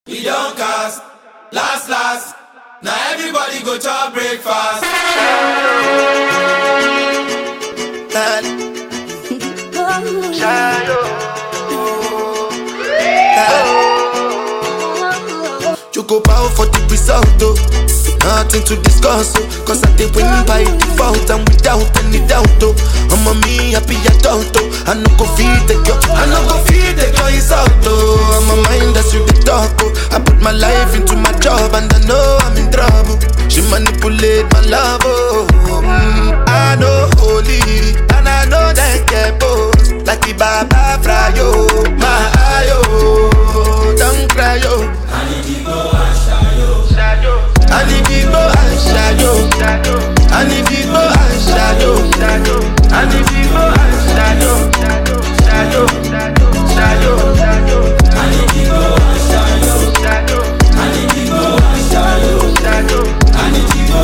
We don't cast, last. Now everybody go to breakfast. You go bow for the result, oh. Nothing to discuss, oh. Cause I did win by default and without any doubt, oh. I'm a me happy adult, oh. I no go feed the girl, insult, oh. I'm a mind that's you the talk, oh. I put my life into my job and I know I'm in trouble. She manipulate my love, oh. I know holy and I know that get both. Like the Baba Frayo, my ayo. Don't cry, yo. I need to go and shayo. I need to go and shayo. I need to go and shayo. I need to go and shayo. Shayo. I need to go and shayo. I need to go and shayo. I need to go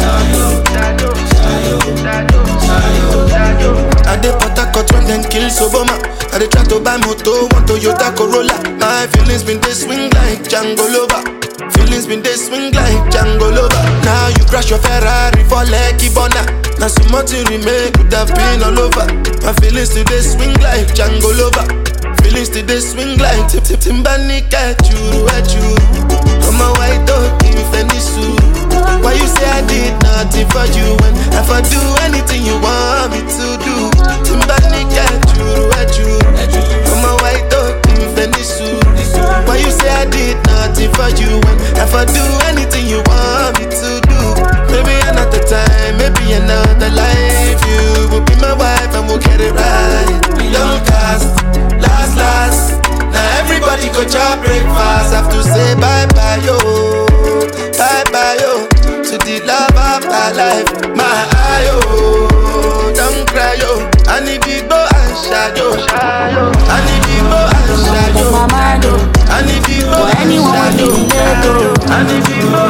and shayo. I dey Port-Harcourt when them kill Soboma. I dey try to buy moto, one Toyota Corolla. My feelings been they swing like Django Lover. Feelings been they swing like Django Lover. Now you crash your Ferrari for Lucky Bona. Now so much you remake could have been all over. My feelings today swing like Django Lover. Feelings today swing like Timbani at you. I'm a white dog in Fenisu. Why you say I did nothing for you when if I do anything you want me to do? Timbani at you. I'm a white dog in Fenisu. Why you say I did nothing for you when if I do anything you want me to do? Maybe another time, maybe another life. You will be my wife and we'll get it right. We don't cast, last. Now everybody go to breakfast. Have to say bye-bye, yo. Bye-bye, yo. To the love of my life, my ayo. Don't cry, yo. I need to go and shadow. I need to go and shadow. My mind, I need to go for and anyone shadow. in the ghetto. I need to go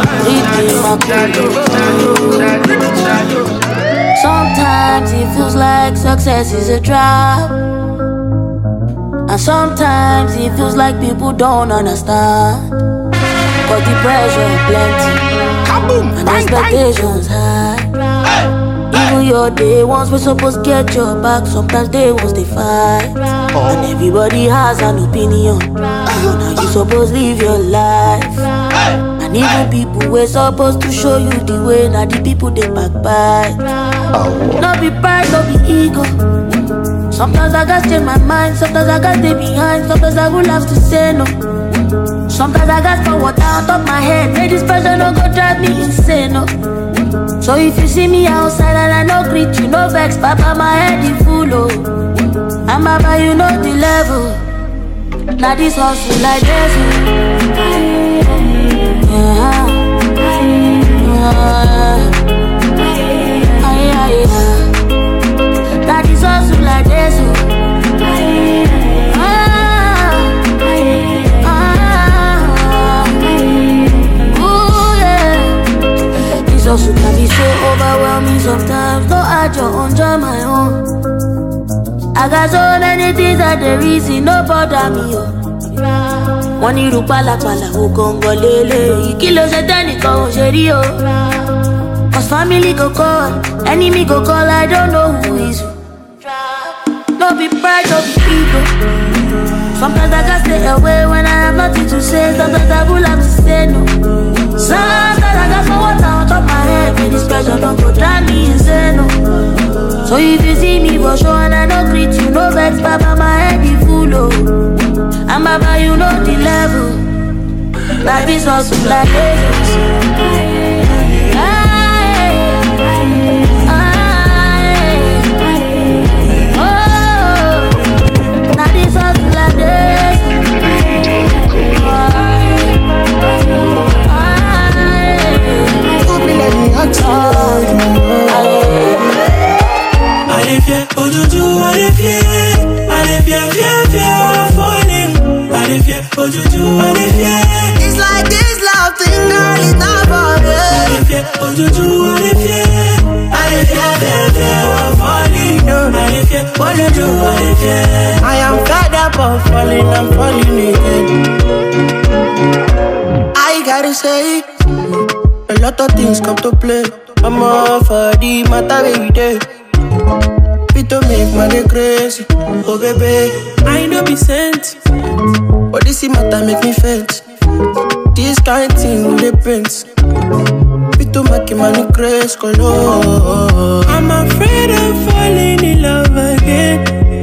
and shadow. Sometimes it feels like success is a trap, and sometimes it feels like people don't understand. But the pressure plenty, and expectations high. Even your day ones we're supposed to get your back. Sometimes day ones they fight, and everybody has an opinion. Now you supposed to live your life. And even people we're supposed to show you the way. Now the people they backbite. No be pride, no be ego. Sometimes I gotta change my mind. Sometimes I gotta stay behind. Sometimes I will have to say no. Sometimes I gotta throw water on top my head. May this pressure no go drive me insane, no. So if you see me outside and I no greet you, no vex, papa, my head is full, oh. And baba, you know the level. Now this hustle like this, Now this hustle like this, hustle can be so overwhelming sometimes. No, I just enjoy my own. I got so many things that the reason no bother me, oh. Wọ́n ní irú pálapàla ó gọ́ngọ́ lélẹ̀. Kí ló ṣe tẹ́nìkan ò ṣe rí o. Cause family go call, enemy go call, I don't know who is who. No be pride, no be ego. Sometimes I gotta stay away when I have nothing to say. Sometimes I will have to say no. Sometimes I got some water on top my head. When this pressure don't go drive me insane, no. So if you see me for sure and I don't greet you, no vex, papa, my head is full, oh. And baba, you know the level. Life is hustle like this. Now this hustle like this. Allez viens, aujourd'hui, allez viens. Allez viens, falling. Allez viens, aujourd'hui, allez viens. It's like this love thing, girl, it's not for me. Allez viens, aujourd'hui, allez viens. Allez viens, falling. Allez viens, aujourd'hui, allez viens. I am fed up of falling, I'm falling again. they say, a lot of things come to play. I'm all for the matter every day. Fit to make money crazy. Oh baby, I know be sent. but this matter make me faint. This kind thing with the prince. Fit to make money crazy. Color. I'm afraid of falling in love again.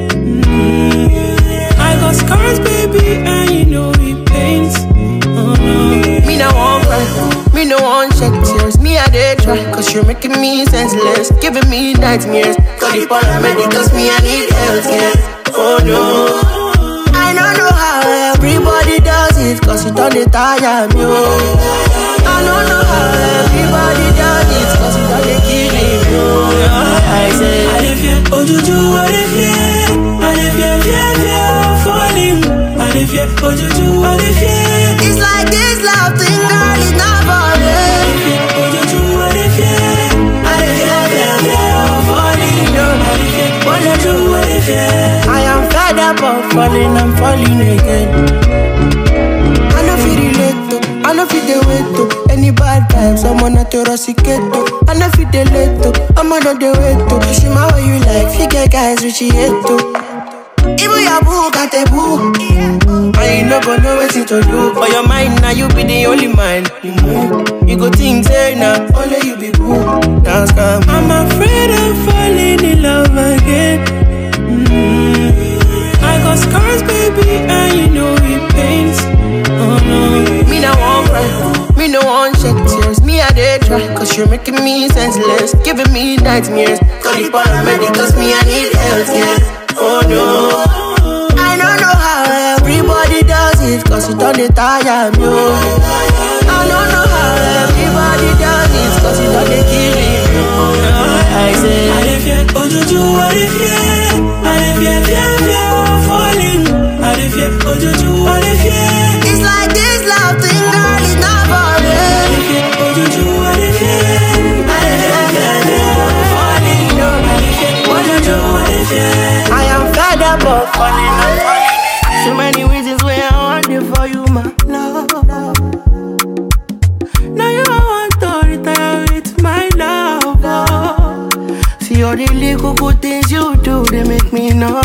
I got scars, baby, and you know it pains. Oh no. Me no one cry, me no one shed tears. Me I dey try, cause you're making me senseless, giving me nightmares. Call the paramedic, cause me I need health care. Oh no, I don't know how everybody does it, cause it don't dey tire me. Oh. I don't know how everybody does it, cause it don't dey kill me. Oh. I say, I dey fear, oh juju, I dey fear. I dey fear, fear of falling. I dey fear, oh juju, I dey fear. it's like this love thing, girl, it's not for me. Oh juju, I dey fear. I dey fear of falling. I dey fear, oh juju, I dey fear. I am fed up of falling, I'm falling again. I know feel relate to, I know feel the way to. Any bad vibes, I'm on a Torosicato. I know feel the late to, I'm on the way to. She my way you like, figure guys which she hate to. Even your boo got a boo. I ain't no gonna know what to do. For your mind, now you be the only mind. You go think, say now, only you be boo. Dance come. I'm afraid of falling in love again. I got scars, baby, and you know it pains. Oh no. Me no one cry, me no one shed tears. Me I dey try, cause you're making me senseless, giving me nightmares. Call the paramedic, cause me I need health care. Oh no, I don't know how everybody does it, cause it don't dey tire me. Oh. I don't know how everybody does it, cause it don't dey kill me. Oh. I say, I dey fear, oh juju, I dey fear. I dey fear of falling. I dey fear, oh juju, I dey fear. it's like this love thing, girl, it's not for me. I dey fear, oh juju, I dey fear. I dey fear of falling. I dey fear, oh juju, I dey fear. I am fed up of falling, I'm falling. So many reasons why I want it for you, my love. Now you want to retire with my love. Oh. See all the little good things you do, they make me no.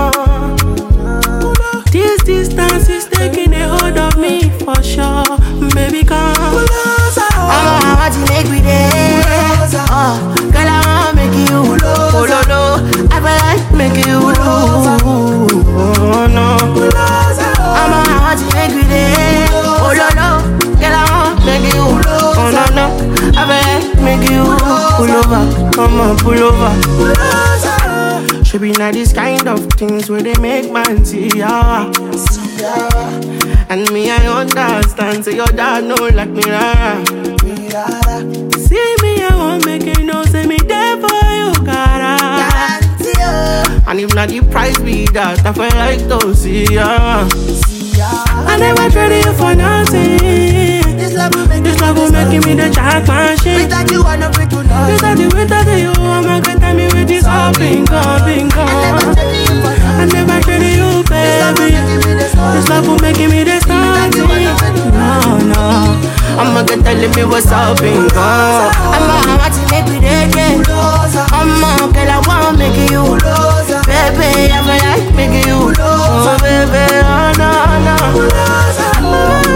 This distance is taking a hold of me for sure. Baby, come closer. I want to make me there. Girl, I want to make you. Oh, no. I feel like make you. Oh, no. I want to make me there. Oh, no. Girl, I want to make you. Oh, no. I feel like make you. Pull over. Come on, pull over. Should be not this kind of things where they make man see ya. And me, I understand. Say your dad know like me, rara. See me, I won't make it no. Say me there for you, cara. And if not the price be that, I feel like to see ya. I never traded you for nothing. This love will make me the jack machine. Without you, I don't to know. Without you, I'm not gonna tell me with this all bingo. I never traded you, baby. This love will make me the starting. No. I'ma get telling me what's up, bingo. I'ma want to make me there, I'ma girl, I wanna make you. Baby, I feel like making you. Oh, baby, oh, no.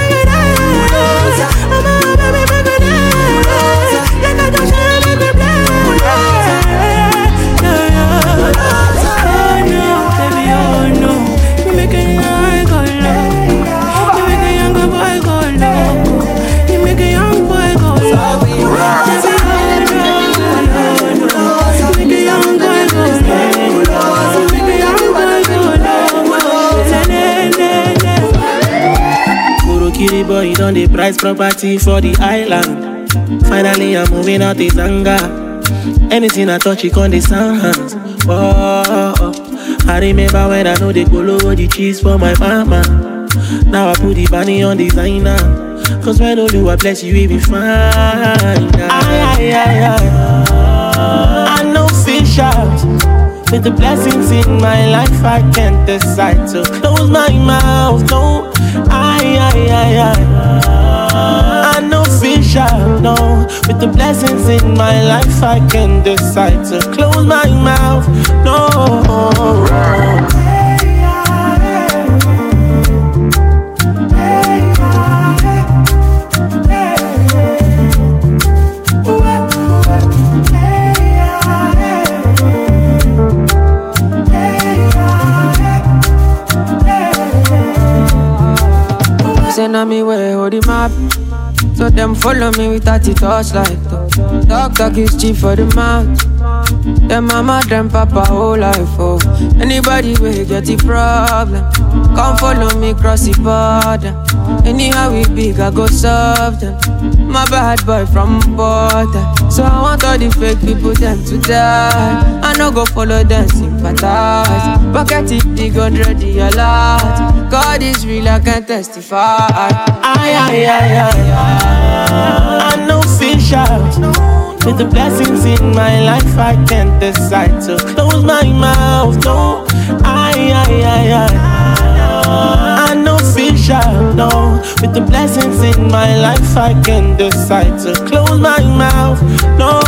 Kitty boy, done the price property for the island. Finally, I'm moving out this anger. Anything I touch, it on the sound hands. Oh. I remember when I know they go low the cheese for my mama. Now I put the bunny on designer. Cause when I bless you, it be fine. I know fish out. With the blessings in my life, I can't decide to close my mouth. No, With the blessings in my life, I can decide to close my mouth. No. Send on me way, hold the map. So them follow me with 30 torchlight. Talk is cheap for the mouth. Them mama, them papa, whole life, oh. Anybody will get the problem. Come follow me, cross the border. Anyhow we big, I go serve them. My bad boy from border. So I want all the fake people, them to die. I no go follow them, sympathize. Pocket it big, 100 a lot. God is real, I can testify. I know fish out. With the blessings in my life, I can't decide to close my mouth. No, I know fish out. No, with the blessings in my life, I can decide to close my mouth. No.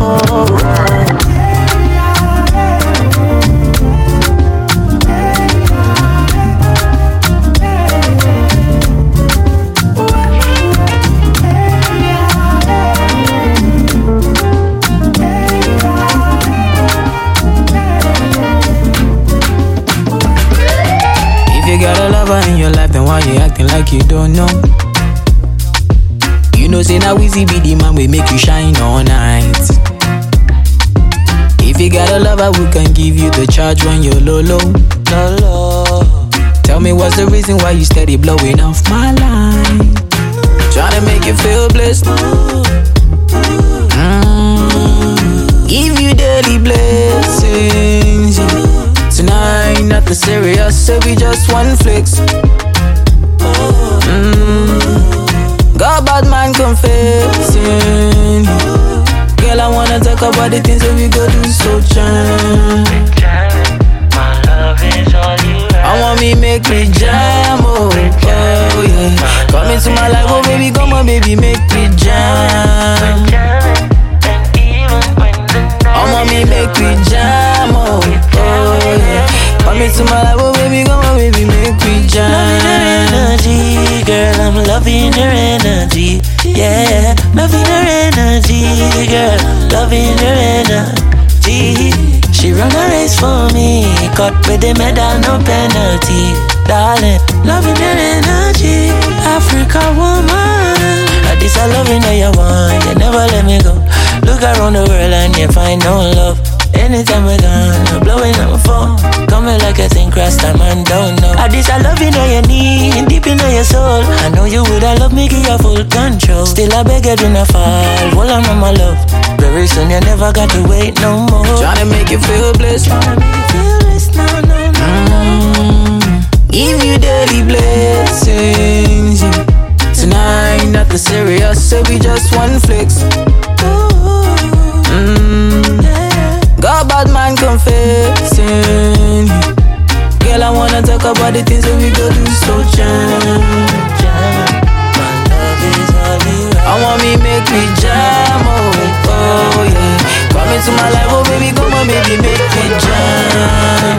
You got a lover in your life, then why you acting like you don't know? You know, say now easy be the man we make you shine all night. If you got a lover who can give you the charge when you're low. Tell me what's the reason why you steady blowing off my line? Tryna make you feel blessed. Give you daily blessings. Tonight, nothing serious, so we just one flex. Got bad man confessing. Girl, I wanna talk about the things that we go do, so jam. My love is all you have. I want me make me jam, oh yeah. Come into my life, oh baby, come on baby, make me jam. I want me make me jam, oh yeah. Come into my life, oh baby, come on baby, make me jam. Loving her energy, girl, I'm loving her energy. Yeah, loving her energy, girl, loving her energy. She run a race for me, cut with the medal, no penalty. Darling, loving her energy, Africa woman. This I loving how you want, you never let me go. Look around the world and you find no love. Anytime we're gone, I'm blowing up my phone. Coming like a thing cross time and don't know. This I love you know you need, deep in your soul. I know you would have love me, give you full control. Still I beg you do not fall, hold on my love. Very soon you never got to wait no more. Tryna make you feel blessed. Give you daily blessings. Tonight, nothing serious, so we just one flex. Got bad man confessing. Girl, I wanna talk about the things that we go do, so jam. My love is all you have. I want me make me jam, oh yeah. Come into my life, oh baby, come on baby, make me jam.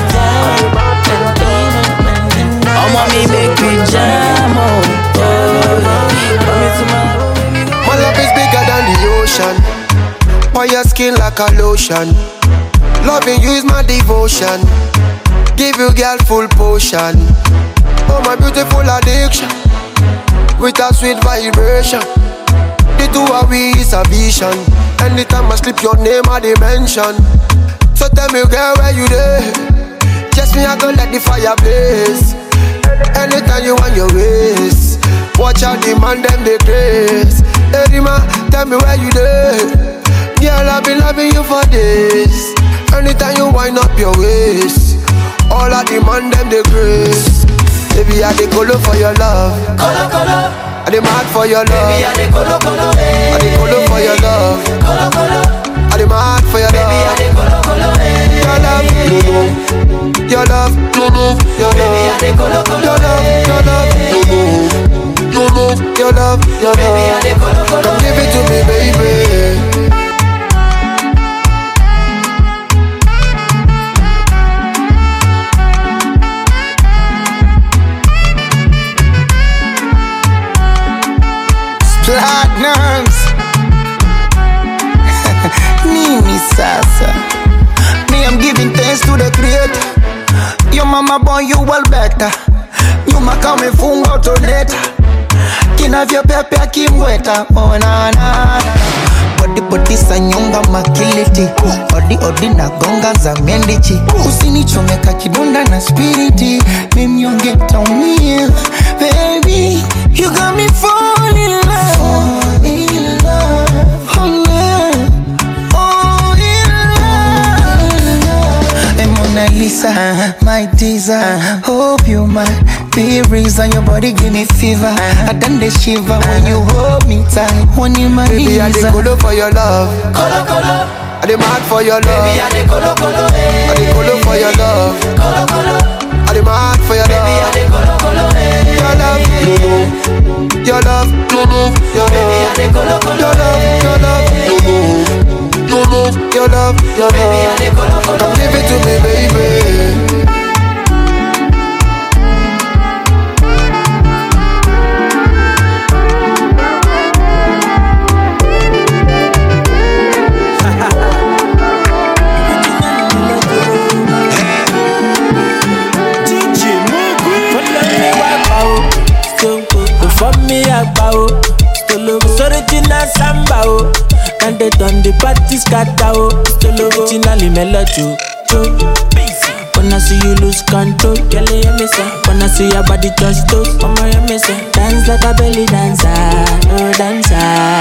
I want me make me jam, oh yeah. Come into my life, oh baby, my love is bigger than the ocean. On your skin like a lotion. Loving you is my devotion. Give you girl full potion. Oh my beautiful addiction. With a sweet vibration. The two of we is a vision. Anytime I slip your name I dimension. So tell me girl where you there. Just me I go let the fire blaze. Anytime you want your ways. Watch out the man them they craze. Hey Rima, tell me where you there. Girl, I've been loving you for days. Anytime you wind up your waist, all I demand them the grace. Baby, I dey colo for your love. Colo, colo. I dey mad for your love. Baby, I dey colo, colo. I dey colo for your love. Colo, colo. I dey mad for your love. Baby, I dey colo, colo. Your love, your love, your love, Baby, I dey colo, colo. your love, your love, your love, your love, your love. Baby, I dey colo, colo. Come give it to to me, baby. Platinums. Nini Sasa. Me, I'm giving thanks to the Creator. Your mama born you well better. Nyuma kama funga toneta. Kinavyo pepe akimweta. Oh na na. Body sanyonga makiliti. Odi na gonga za mendichi. Usinichomeka kidonda na spiriti. Mimi yonge taumia. Baby, you got me falling in love. Fall in love. Oh yeah. Oh in love. And Mona Lisa, my teaser. Hope you might be reason your body give me fever. I done the shiver when you hold me tight. When you my baby, I dey colo for your love. Colo. I dey mad for your love. Baby, I dey colo. I dey colo for your love. Colo. I dey mad for your love. Baby, I dey colo. Your love, your love, your love, your baby, I dey colo. your love, Baby, I dey colo. Come give it to me, baby. Original samba oh, and they done the party scatter oh. Still originally melody oh. Wanna see you lose control, girl you me say. Wanna see your body touch toes, mama you me say. Dance like a belly dancer, oh dancer.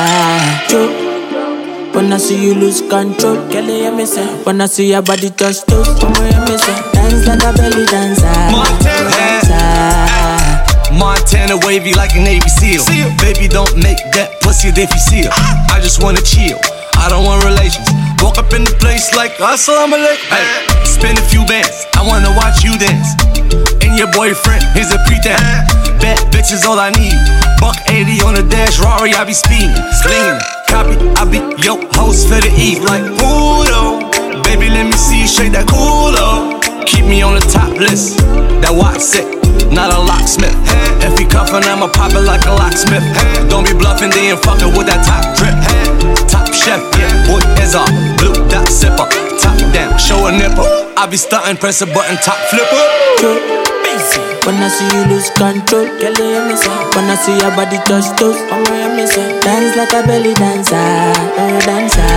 Wanna see you lose control, girl you me say. Wanna see your body touch toes, mama you me say. Dance like a belly dancer, Montana, dancer. Montana wavy like a Navy SEAL. Baby, don't make that pussy if you seal. I just wanna chill, I don't want relations. Walk up in the place like assalamu alaikum. Hey, spend a few bands, I wanna watch you dance. And your boyfriend, here's a pretense. Bad bitches all I need. Buck 80 on the dash, Rari, I be speeding. Slinging, copy, I be yo host for the eve. Like Udo, baby, let me see you shake that culo. Keep me on the top list, that watch sick, not a locksmith. If he cuffin', I'ma pop it like a locksmith. Don't be bluffing, then fuckin' with that top drip. Top chef, yeah, boy is off. Blue dot sipper, top down, show a nipple. I be stuntin', press a button, top flipper. Wanna see you lose control, girl you me say. Wanna see your body touch toes, mama you me say. Dance like a belly dancer, oh dancer.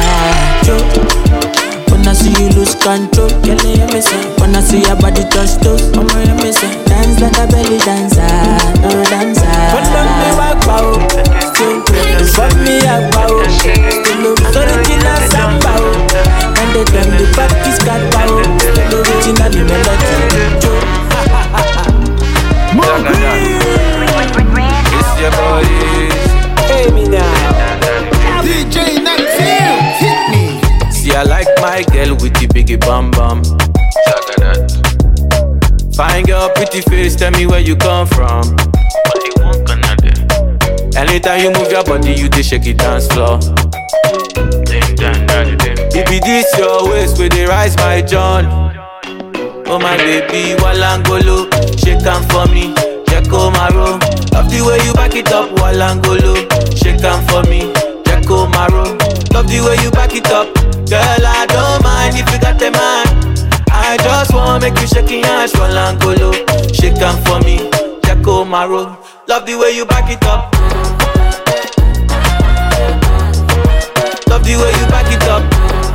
Wanna see you lose control, girl you me say. Wanna see your body touch toes, mama you me say. Dance like a belly dancer, oh dancer. Follow me back pow, still fuck me up pow. Still original samba, and they done the party scatter. Still original melody. It's your boy. Hey me now, DJ Naxil, hit me. See, I like my girl with the biggie bum bum. Fine girl, pretty face, tell me where you come from. What you want, Canada? Anytime you move your body, you dey shake it dance floor. Baby, this your waist where they rise my John. Oh my baby, Walangolo, shake am for me, Jacko Maro. Love the way you back it up, Walangolo, shake am for me, Jacko Maro. Love the way you back it up, girl. I don't mind if you got a man. I just wanna make you shake your ass, Walangolo, shake am for me, Jacko Maro. Love the way you back it up. Love the way you back it up.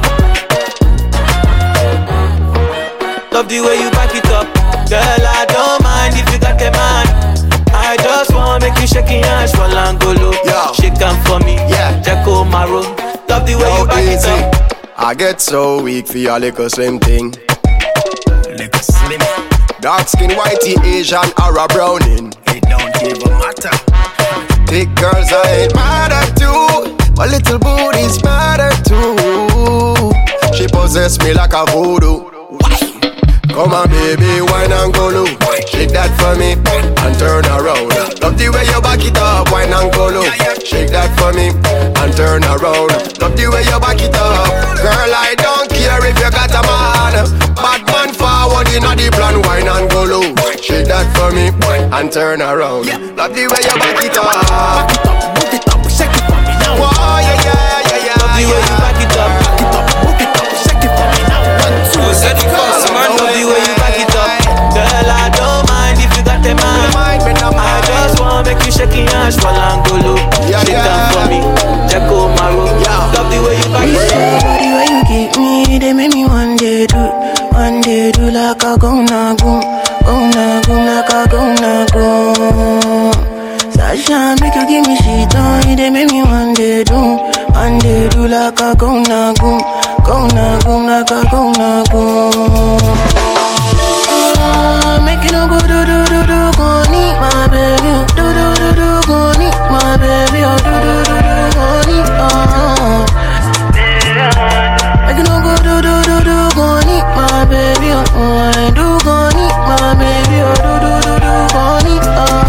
Love the way you back it up. Girl, I don't mind if you got a man. I just wanna make you shake your ass, Walangolo, shake am for me, Jacko Maro. Love the way you back it up. I get so weak for your little slim thing. Little slim. Dark skin, whitey, Asian, or a browning. It don't even matter. Thick girls I ain't mad at you, but little booties matter too. She possess me like a voodoo. Come on baby, wine and go low. Shake that for me and turn around. Love the way you back it up, wine and go low. Shake that for me and and turn around. Yeah. Love the way you back it up. Back it up, move it up, shake it for me now. Oh yeah, yeah, yeah, yeah. Love the way you back it up. Back it up, move it up, shake it for me now. 1, 2, Set it fast, man. Love the way you back it up. Girl, I don't mind if you got the man. I just wanna make you shake your hands for Langolo. Shake down for me, Jacko Maro. Love the way you back it up. The way you give me, they make me one day do like a gonna go, like a gonna go. Sasha, make you give me shit on, they make me one day do like a gonna go, like a gonna go. Make you no go do, go need my baby, do, go need my baby, do, go need, Make you no go do, go need my baby, I do go need my baby, do, go need,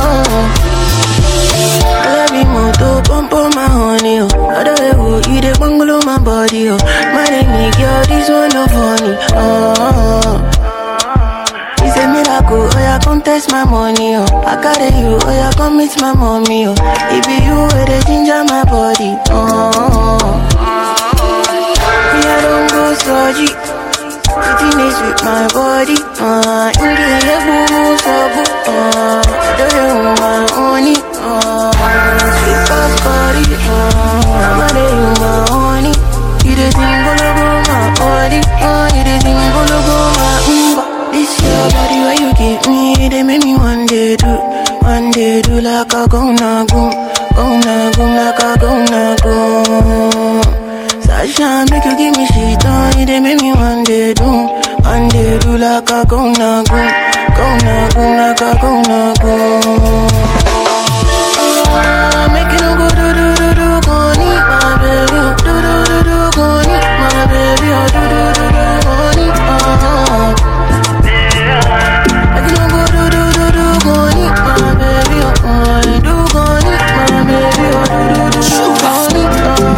I love you more, pump on my honey, I don't know you the bungalow my body, my name girl, this one no funny, It's a miracle, oh yeah, come test my money, oh. I carry you, oh yeah, come meet my mommy, oh. It be you where they ginger my body, Me, I don't go surgery. Sitting is with my body, In the boo, so boo, Do you want my honey, Sweet as body, I'm a day with my honey. You the thing gonna go my body, You the thing gonna go my This your body where you give me, they make me one day do like a gonna go, like a gonna go. Sasha, make you give me shit on, they make me one day do like a gonna go, like a gonna go. Make you no go do, go need my baby, do, go need my baby, do, go need, I can go do, go need my baby, I do go need my baby, do, go need,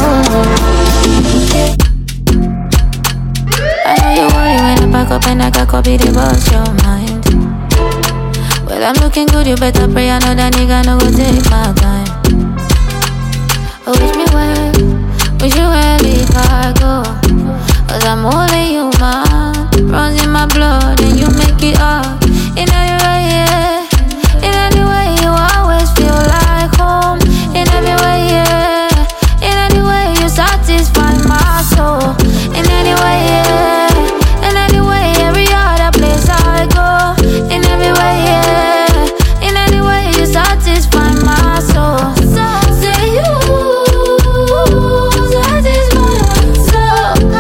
I know you worry when I pack up and I got copy the boss your mind. Well, I'm looking good, you better pray. I know that nigga no go take my time. Oh, wish me well, wish you well if I go. Cause I'm only human, runs in my blood and you make it up. In any way, yeah. In any way, you always feel like home. In every way, yeah. In any way, you satisfy my soul. In any way, yeah. In any way, every other place I go. In every way, yeah. In any way, you satisfy my soul. So say you satisfy my soul.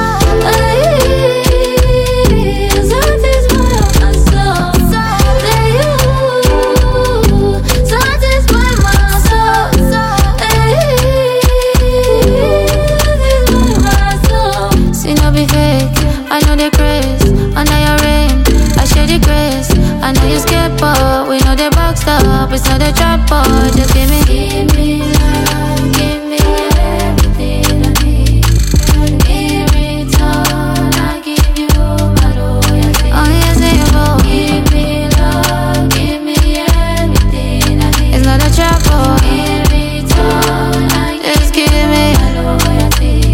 It's not a trap, but just give me love, give me everything I need. In return, I give you my loyalty. Oh yes, give me love, give me everything I need. It's not a trap, but in return, just give me my loyalty.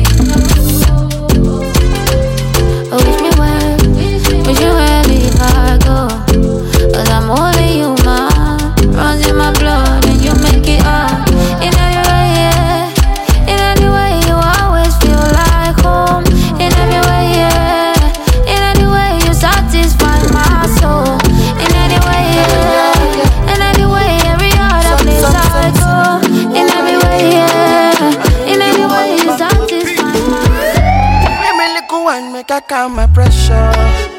Oh, wish me well, wish you well if I go. Cause I'm only human. Runs in my blood and you make it up. In any way, yeah. In any way, you always feel like home. In every way, yeah. In any way, you satisfy my soul. In any way, yeah. In any way, every other place I go. In every way, yeah. In any way, you satisfy my soul. Let me little one make I calm my pressure.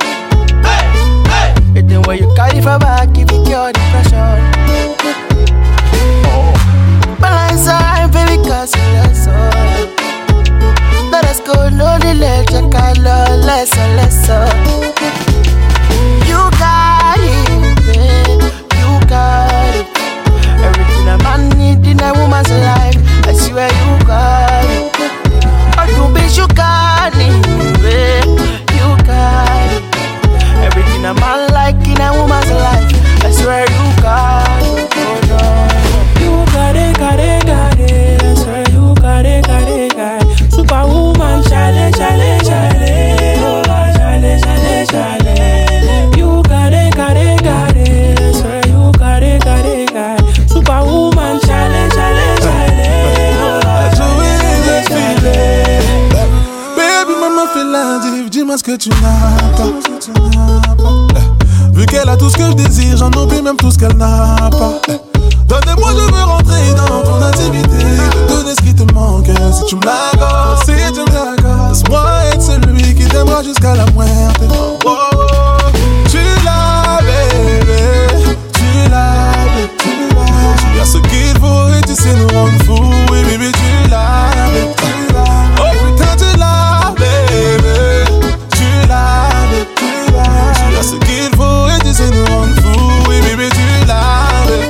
The way you carry for back, give me cure depression. Balance out, baby, cause you less up. Let us go, no delay, check out less. You got it, babe, you got it. Everything a man need in a woman's life, I swear you got it. Or to be you got it, babe, you got it. Everything a man like in a woman's life, I swear you got it. que tu n'as pas. Vu qu'elle a tout ce que je désire, j'en oublie même tout ce qu'elle n'a pas. Donne-moi, je veux rentrer dans ton intimité. Donner ce qui te manque, si tu me l'accordes, si tu me l'accordes. Laisse-moi être celui qui t'aimera jusqu'à la muerte. Oh, oh. Tu l'as, bébé. Tu l'as, bébé. Tu as ce qu'il faut et tu sais nous rendre fous. Oui, bébé, tu l'as, bébé. Oh putain, tu l'as, bébé. Tu l'as, bébé. Tu as ce qu'il faut et tu sais nous rendre fous. Oui, bébé, tu l'as, bébé.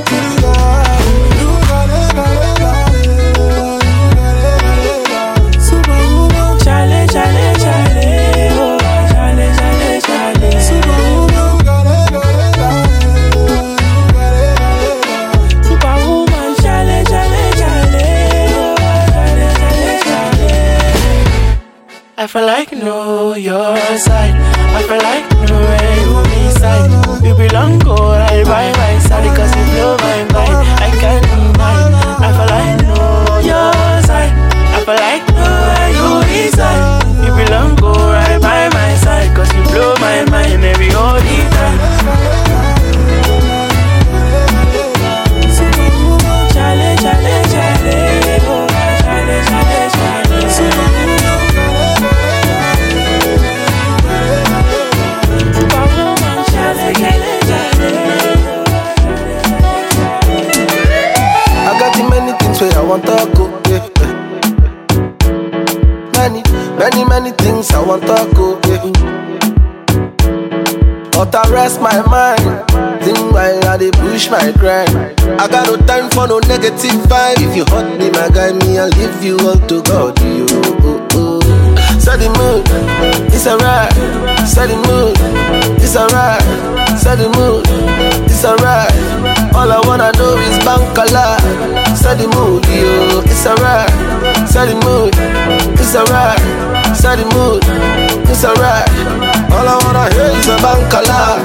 I feel like know your side. I feel like know where you reside. You belong, go right by my side. Cause you blow my mind, I can't deny. I feel like know your side. I feel like know where you reside. You belong, go right by my side. Cause you blow my mind every all the time. Chale, chale, chale. Oh, chale, chale, chale. I want to go, yeah. Many things I want to go, yeah. But I rest my mind, think while I dey push my grind. I got no time for no negative vibe. If you hurt me, my guy, me, I'll leave you all to God, you. Set the mood, it's alright. Set the mood, it's alright. Set the mood, it's alright. All I wanna do is bankala. Set the mood, yo, it's alright. Set the mood, it's alright. Set the mood, it's alright. All I wanna hear is a bankala.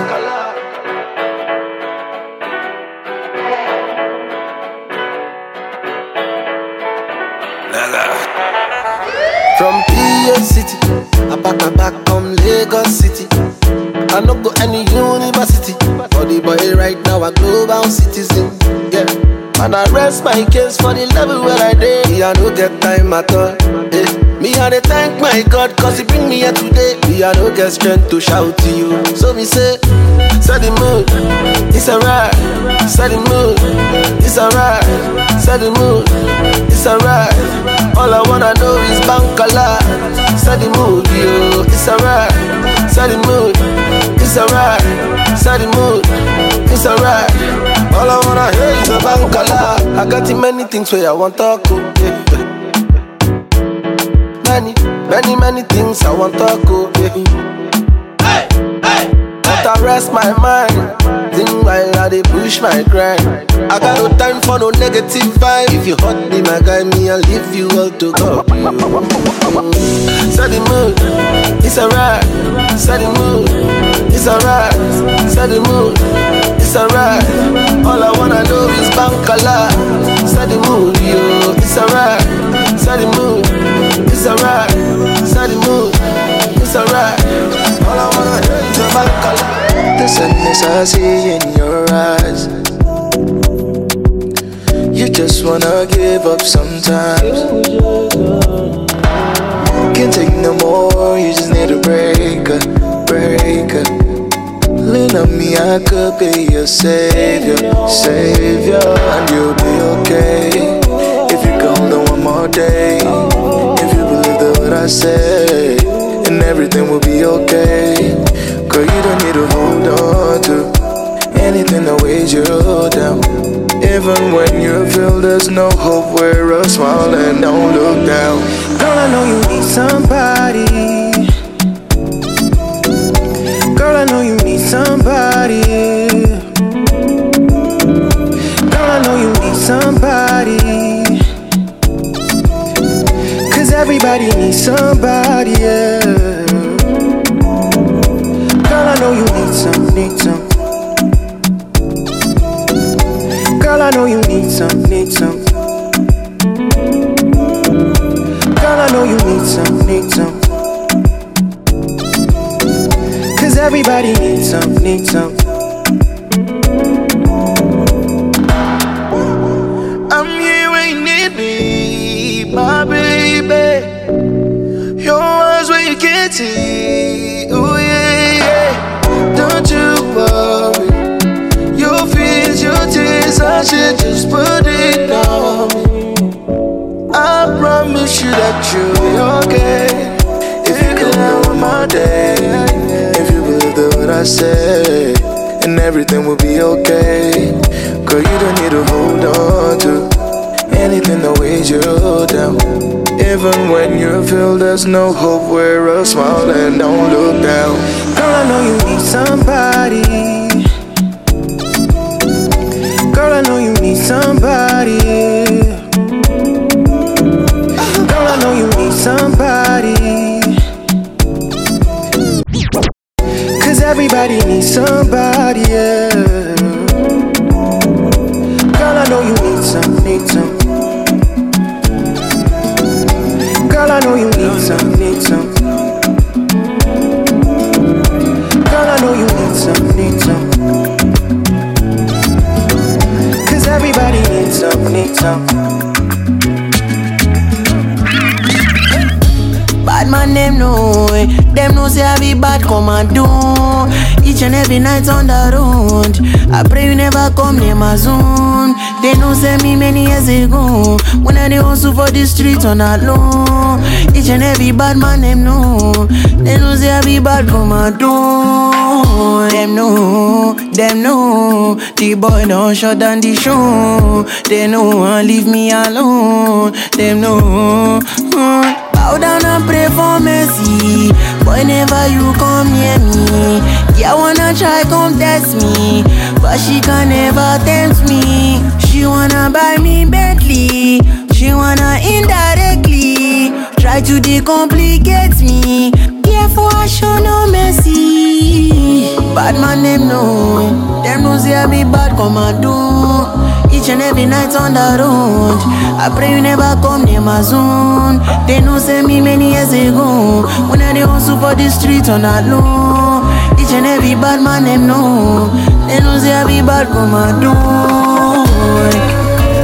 From PA City, I pack my back from Lagos City. I no go any university, for the boy right now a global citizen. Yeah, and I rest my case for the level where I did. Me I no get time at all. Yeah. Me I dey thank my God cause he bring me here today. Me I no get strength to shout to you. So me say, set the mood, it's alright. Set the mood, it's alright. Set the mood, it's alright. All I wanna do is bankala. Set the mood, yo, it's alright. Set the mood, it's alright. Set the mood, it's alright. All I wanna hear is a bankala. I got too many things where I want to go, yeah. Many things I want to go, yeah. Hey, hey, but I rest my mind, think while I dey push my grind. I got no time for no negative vibe. If you hurt me, my guy, me, I'll leave you all to God. Set the mood, it's alright. Set the mood, it's alright. Set the mood, it's alright. All I wanna do is bankala. Set the mood, yo, it's alright. Set the mood, it's alright. Set the mood, it's alright. All I wanna hear is a bankala. The sadness I see in your eyes. You just wanna give up sometimes. Can't take no more, you just need a breaker. Lean on me, I could be your savior. And you'll be okay if you go on one more day. If you believe that what I say, and everything will be okay. Girl, you don't need to hold on to anything that weighs you down. Even when you feel there's no hope, wear a smile and don't look down. Girl, I know you need somebody. Girl, I know you need somebody. Girl, I know you need somebody. Cause everybody needs somebody, yeah. Girl, I know you need some. Girl, I know you need some. Girl, I know you need some. everybody needs some, needs some. I'm here when you need me, my baby. Your eyes where you can't see, oh yeah, yeah. Don't you worry, your fears, your tears, I should just put it on me. I promise you that you'll be okay. If you come down with my day, if you believe the what I say, and everything will be okay. Girl, you don't need to hold on to anything that weighs you down. Even when you feel there's no hope, wear a smile and don't look down. Girl, I know you need somebody. Girl, I know you need somebody. Girl, I know you need somebody. Cause everybody needs somebody, yeah. Girl, I know you need some, need some. Girl, I know you need some, need some. Girl, I know you need some, need some. Cause everybody needs some, need some. Bad man, them know it. Them know say I be bad, come and do. Each and every night on the road, I pray you never come near my zone. They know say me many years ago, when I dey hustle for the street on that low. Each and every bad man, them know. They know say I be bad, come and do. Them know, the boy don't shut down the show. They know, leave me alone. Them know. Bow down and pray for mercy. Boy, never you come near me. Yeah, wanna try come test me, but she can never tempt me. She wanna buy me Bentley. She wanna indirectly try to decomplicate me. Therefore I show no mercy. Bad man, them know. Them know say I be bad, come and do. Each and every night on the road, I pray you never come near my zone. They know say me many years ago, when I dey hustle for the street on that low. Each and every bad man, them know. They know say I be bad, come and do.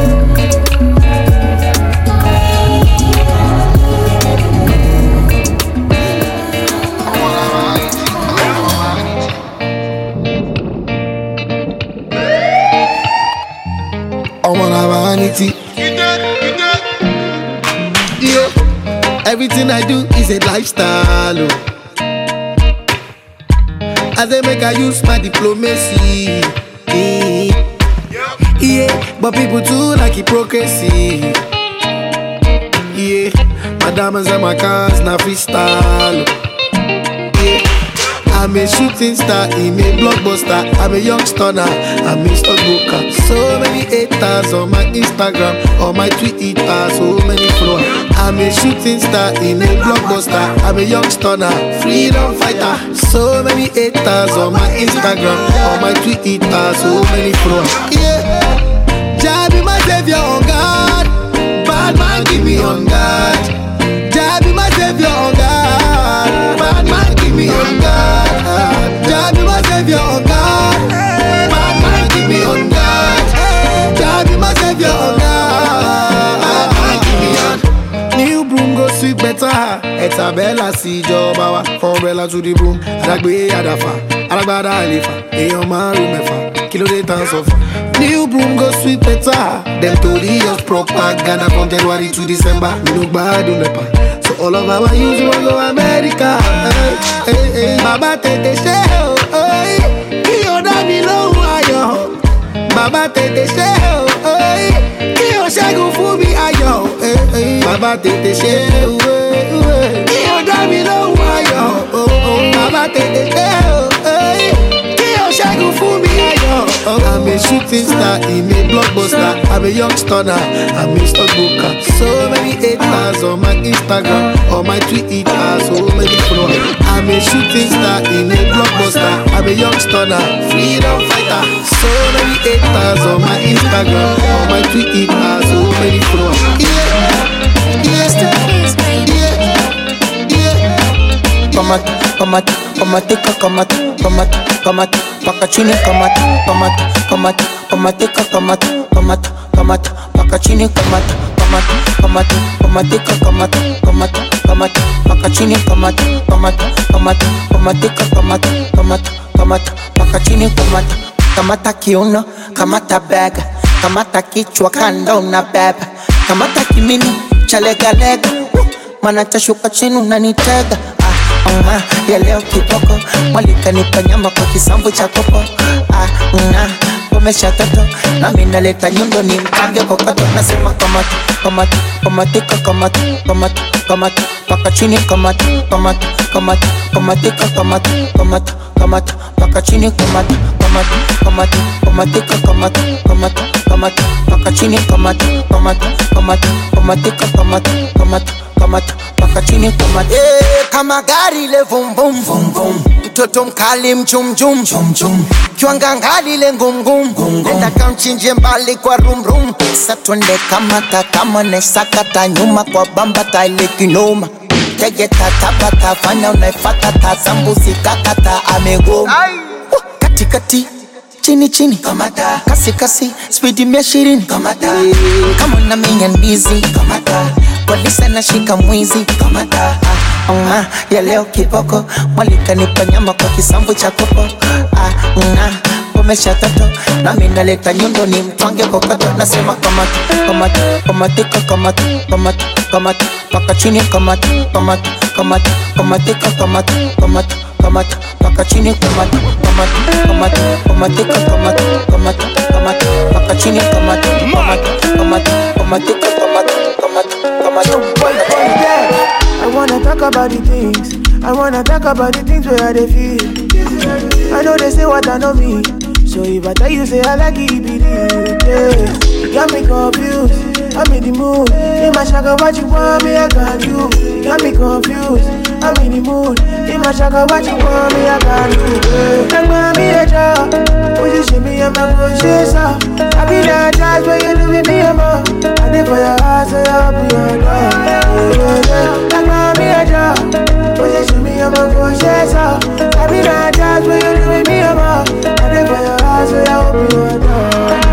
I'm on a vanity. Yeah, everything I do is a lifestyle. Oh. As I make I use my diplomacy. Yeah, but people too like hypocrisy. Yeah, my diamonds and my cars now freestyle. Yeah. I'm a shooting star, I'm a blockbuster, I'm a young stunner, I'm a stockbroker. So many haters on my Instagram, on my Twitter, so many followers. I'm a shooting star, I'm a blockbuster, I'm a young stunner, freedom fighter. So many haters on my Instagram, on my Twitter, so many followers. Yeah, Jah be my savior on God, bad man give me on God. Jah be my savior on God, bad man give me on God. Jah be my savior on God, bad man give me on God. Jah be my savior on God, bad man give me on. New broom go sweep better. Etabella see job hour, from umbrella to the broom. Adagbe adafa, alagbada alifa, eyan maru mefa, kilo de tan sofa. New broom go sweep better. Them tori just propaganda from January to December. We no bad on nepa. So all of our youth want go America. Hey, hey, Baba tete she oh, hey. Ki o da mi lohun ayọ̀. Baba tete she oh, hey. Ki o ṣẹ́gun fún mi ayọ̀. Hey, hey. Baba tete she oh, hey. Ki o da mi lohun ayọ̀. Baba tete she oh, hey. Ki o ṣẹ́gun fún mi ayọ̀. I'm a shooting star, I'm a blockbuster, I'm a young stunner, I'm a stockbroker. So many haters on my Instagram, on my Twitter, so many followers. I'm a shooting star, I'm a blockbuster, I'm a young stunner, freedom fighter. So many haters on my Instagram, on my Twitter, so many followers. Yeah, yeah, yeah, yeah. kamata, kamatika, kamata, kamata, kamata, paka chini, kamata, kamata, kamata, kamatika, kamata, kamata, kamata, paka chini, kamata, kamata, kamata, kamatika, kamata, kamata, kamata, paka chini, kamata, kamata, kamata, kamatika, kamata, kamata, kamata, paka chini, kamata, kamata kiuno, kamata bega, kamata kichwa kando na beba, kamata kimini chalegalega, mana tashuka chini unanitega. Ya leo kiboko mwalika nipa nyama kwa kisambu cha kopo. Umesha toto na mina leta nyundo ni mkange kokoto. Nasema kamata, kamata, kamatika, kamata, kamata, kamata, paka chini, kamata, kamata, kamata, kamatika, kamata, kamata, kamata, paka chini, kamata, kamata, kamata, kamatika, kamata, kamata, kamata, paka chini, kamata, kamata, kamata, kamatika, kamata, kamata, kamata, paka chini, kamata. Kama gari le vum vum vum vum, mtoto mkali mchum chum chum chum, kiwanga ngali le ngum ngum, nenda kamchinje mbali kwa rum rum. Satwende kamata kama nesakata nyuma kwa bamba taile kinoma. Tegeta tabata fanya unaifata tazambuzi kakata amegoma. Kati kati chini chini kamata, kasi kasi speedi 120 kamata, kama na minya ndizi kamata, polisi na shika mwizi kamata. Ya leo kiboko mwalika nipa nyama kwa kisambu cha kopo. Umesha toto na mina leta nyundo ni mtwange kokoto. Nasema kamata, kamata, kamatika, kamata, kamata, kamata, paka chini, kamata, kamata, kamata, kamatika, kamata, kamata, kamata, paka chini, kamata, kamata, kamata, kamatika, kamata, kamata, kamata, paka chini, kamata, kamata, kamata, kamatika, kamata, kamata, kamata. I wanna talk about the things, I wanna talk about the things where they feel. I know they say what I know me, so if I tell you say I like it, be real, yeah. You got me confused, I'm in the mood. In my shaka, what you want me, I got you. You got me confused, I'm in the mood. In my shaka, what you want me, I got you. Like mommy, a job, position me, I'm a good shit, so I be that jazz where you do with me, I'm a. I live for your heart, so I'll be your dog. Like mommy, a job, position me, I'm a good shit, so I be that jazz where you do with me, I'm a. I live for your heart, so I'll be your dog.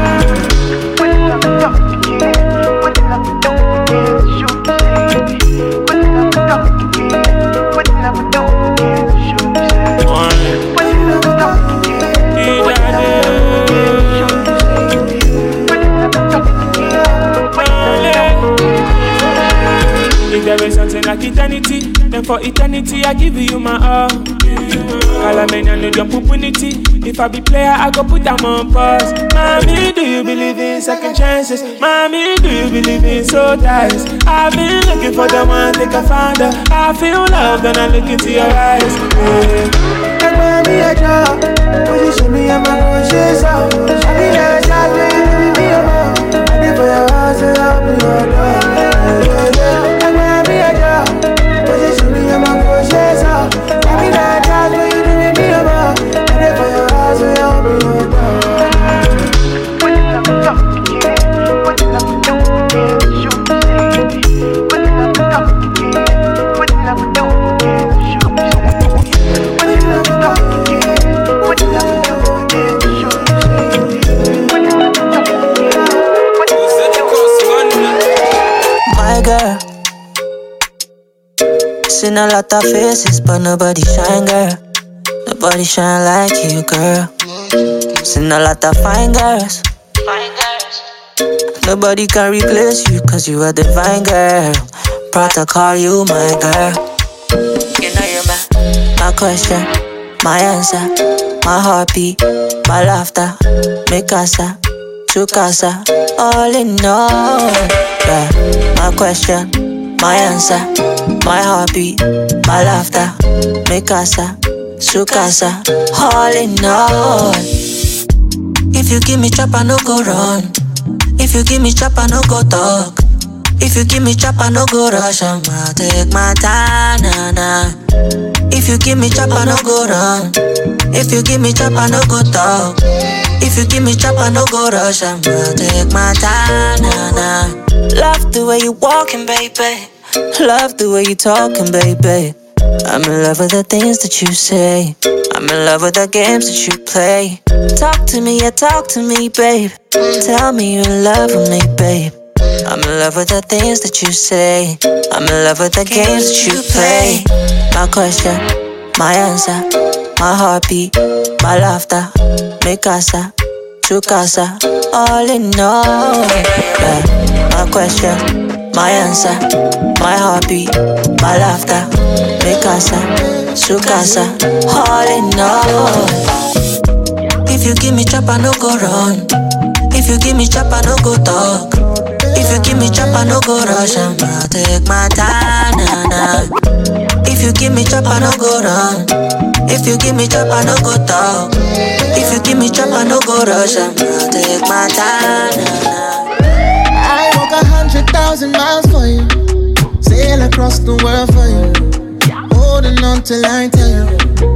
If there is something like eternity, then for eternity I give you my all. Calamania no jump opportunity. If I be player, I go put them on pause. Mommy, do you believe in second chances? Mommy, do you believe in soul ties? I've been looking for the one, think I found her. I feel love when I look into your eyes. Like mommy, a job, position me, I'm a good shit, so I be that shot, baby, me, I'm a. I live for your house, so I'll be your dog. Like mommy, a job, position me, I'm a good shit, so I be that shot, baby, me, I'm a. I live for your house, so I'll be your dog. My girl, seen a lot of faces, but nobody shine, girl. Nobody shine like you, girl. Seen a lot of fine girls. Nobody can replace you, cause you are divine, girl. Proud to call you my girl. You know you're my question, my answer, my heartbeat, my laughter, mi casa, tu casa, all in all. Yeah, my question, my answer, my heartbeat, my laughter, mi casa, su casa, all in all. If you give me chop, I no go run. If you give me chop, I no go talk. If you give me chop, I no go rush. I'ma take my time, nah, nah. If you give me chop, I no go run. If you give me chop, I no go talk. If you give me chop, I no go rush. I'ma take my time, nah, nah. Love the way you walking, baby. Love the way you talking, baby. I'm in love with the things that you say. I'm in love with the games that you play. Talk to me, yeah, talk to me, babe. Tell me you're in love with me, babe. I'm in love with the things that you say. I'm in love with the games that you play. My question, my answer, my heartbeat, my laughter, mi casa, tu casa, all in all. Yeah. My question, my answer, my heartbeat, my laughter, mi casa, su casa, all in all. If you give me chop, I no go run. If you give me chop, I no go talk. If you give me chop, I no go rush. I'ma take my time, nah, nah. If you give me chop, I no go run. If you give me chop, I no go talk. If you give me chop, I no go rush. I'ma take my time, nah, nah. I walk 100,000 miles for you, sail across the world for you, holding on till I tell you.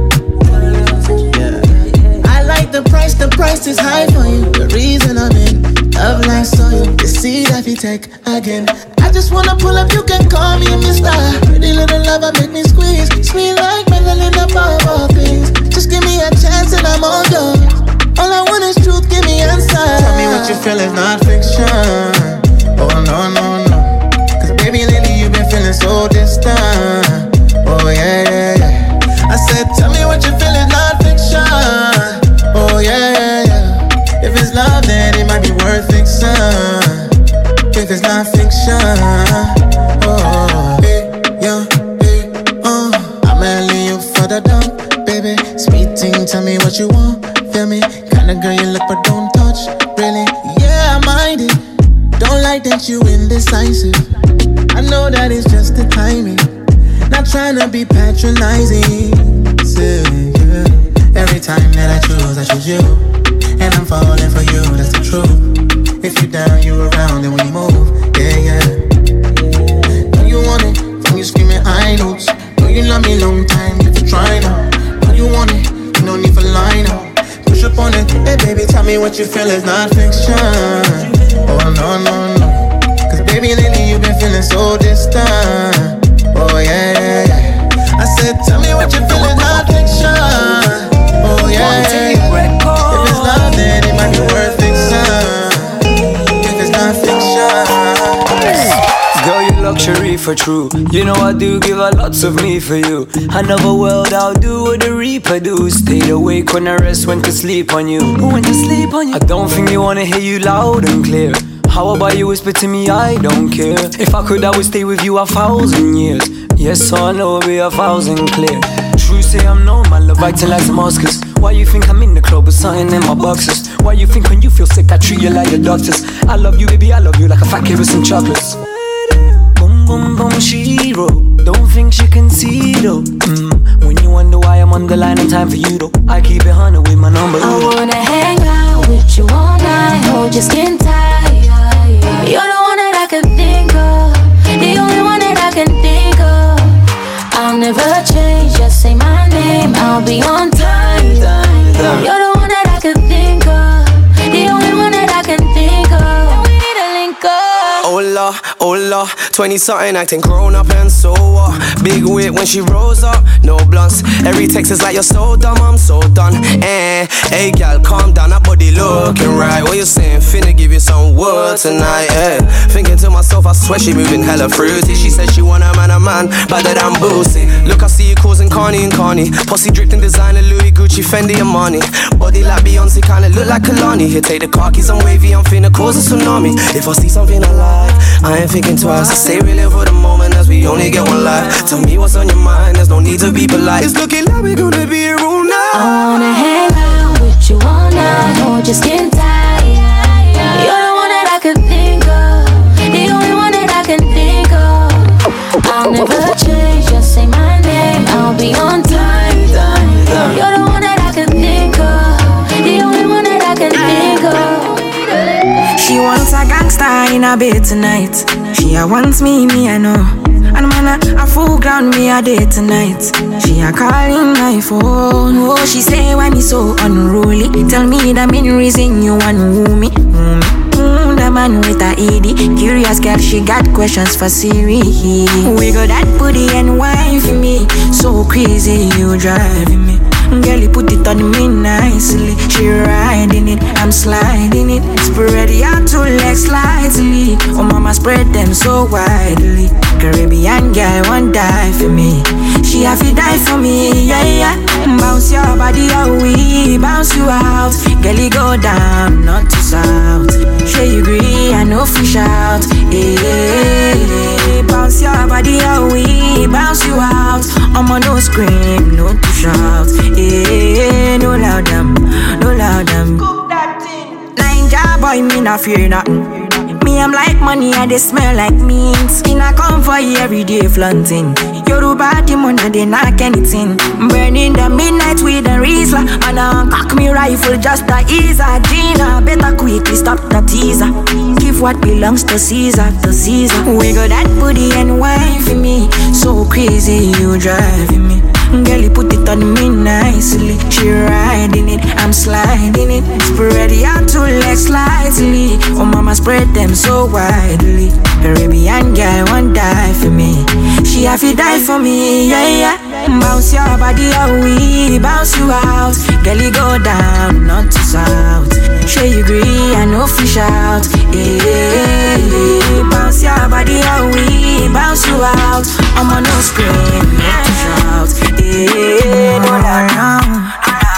I like the price is high for you. The reason I'm in love like soil, the seed that you take again. I just wanna pull up, you can call me Mr. Pretty little lover, make me squeeze, sweet like Madeline above all things. Just give me a chance and I'm all yours. All I want is truth, give me answer. Tell me what you feel is not fiction. Oh no, no, no. Cause baby lately you've been feeling so distant. Oh yeah, yeah, yeah. I said tell me what you feel is not fiction. Oh yeah, yeah, yeah. If it's love then it might be worth fiction. If it's not fiction. Oh, hey, yeah, hey, I'ma lay you further down, baby. Sweet thing, tell me what you want. Feel me? Kinda girl you look but don't touch. Really? Yeah, I mind it. Don't like that you indecisive. I know that it's just the timing. Not trying to be patronizing. So, yeah. Every time that I choose you. And I'm falling for you, that's the truth. If you down, you around, and when you move, yeah, yeah. Know you want it, when you screaming high notes. Know you love me long time, if you try now. Know you want it, you no need for line up. Push up on it, hey baby, tell me what you feel is not fiction. Oh no, no, no. Cause baby, lately you've been feeling so distant. Oh yeah, yeah, yeah. I said, tell me what you feel is not fiction. Oh yeah, yeah, yeah. If it's love, then it might be worth fiction. If it's not fiction. Girl, you luxury for true. You know I do give a lots of me for you. Another world I'll do what the reaper do. Stayed awake when I rest, went to sleep on you. Went to sleep on you. I don't think you wanna hear you loud and clear. How about you whisper to me, I don't care. If I could, I would stay with you 1,000 years. Yes, I know it'll be 1,000 clear. True say I'm known, my love acting like Damascus. Why you think I'm in the club with something in my boxes? Why you think when you feel sick I treat you like the doctors? I love you, baby, I love you like a fat kid with some chocolates. Boom, boom, boom, she wrote. Don't think she can see though. When you wonder why I'm on the line in time for you though, I keep it 100 with my number. I wanna hang out with you all night, hold your skin tight. You're the one that I can think of, the only one that I can think of. I'll never change, just say my name, I'll be on time. You're the one that I can think of, the only one that I can think of. We need to link up. Hola, 20-something acting grown up and so what? Big wit when she rolls up, no blunts. Every text is like you're so dumb, I'm so done. Hey gal, calm down, that body looking right. What you saying? Finna give you some word tonight, Thinking to myself, I swear she moving hella fruity. She said she want a man, better than Boosie. Look, I see you causing Carney and Carney. Posse dripped in designer, Louis, Gucci, Fendi and Money. Body like Beyonce, kinda look like Kalani. Here, take the car keys, I'm wavy, I'm finna cause a tsunami. If I see something I like, I ain't thinking twice. I say we live for the moment as we only get one life. Tell me what's on your mind, there's no need to be polite. It's looking like we're gonna be here all night. I wanna hang out with you all night, hold your skin tight. You're the one that I can think of, the only one that I can think of. I'll never change, just say my name, I'll be on time. You're the one that I can think of, the only one that I can think of. She wants a gangster in a bed tonight. She wants me, I know. And man, a full ground me a day tonight. She a calling my phone. Oh, she say why me so unruly. Tell me the main reason you want woo me. The man with a ED. Curious girl, she got questions for Siri. Wiggle that booty and wine for me. So crazy, you driving me. Girl, you put it on me nicely. She riding it, I'm sliding it. Spread your two legs slightly. Oh mama, spread them so widely. Caribbean girl won't die for me. She have to die for me, yeah, yeah. Bounce your body out, we bounce you out. Girl, you go down, not to south. Sure you agree, I know fish out. Hey, bounce your body out, we bounce you out. I'm on no scream, no to shout. Hey, no loud them, no loud them. Cook that thing. Ninja boy, me not fear nothing. Me, I'm like money and they smell like mint. In a come for you every day flaunting. Yoruba demon and they knock anything. Burning the midnight with a Rizla. And I cock me rifle just to ease a Gina. Better quickly stop the teaser. Give what belongs to Caesar, to Caesar. Wiggle that booty and wine for me. So crazy, you driving me. Girl, you put it on me nicely. She riding it, I'm sliding it. Spread your two legs slightly. Oh mama, spread them so widely. Caribbean girl won't die for me. She have to die for me, yeah, yeah. Bounce your body out, we bounce you out. Girl, you go down, not to south. Sure you agree, I know fish out. Hey, bounce your body out, we bounce you out. I'm on no scream, not to shout. Hey, no lie now.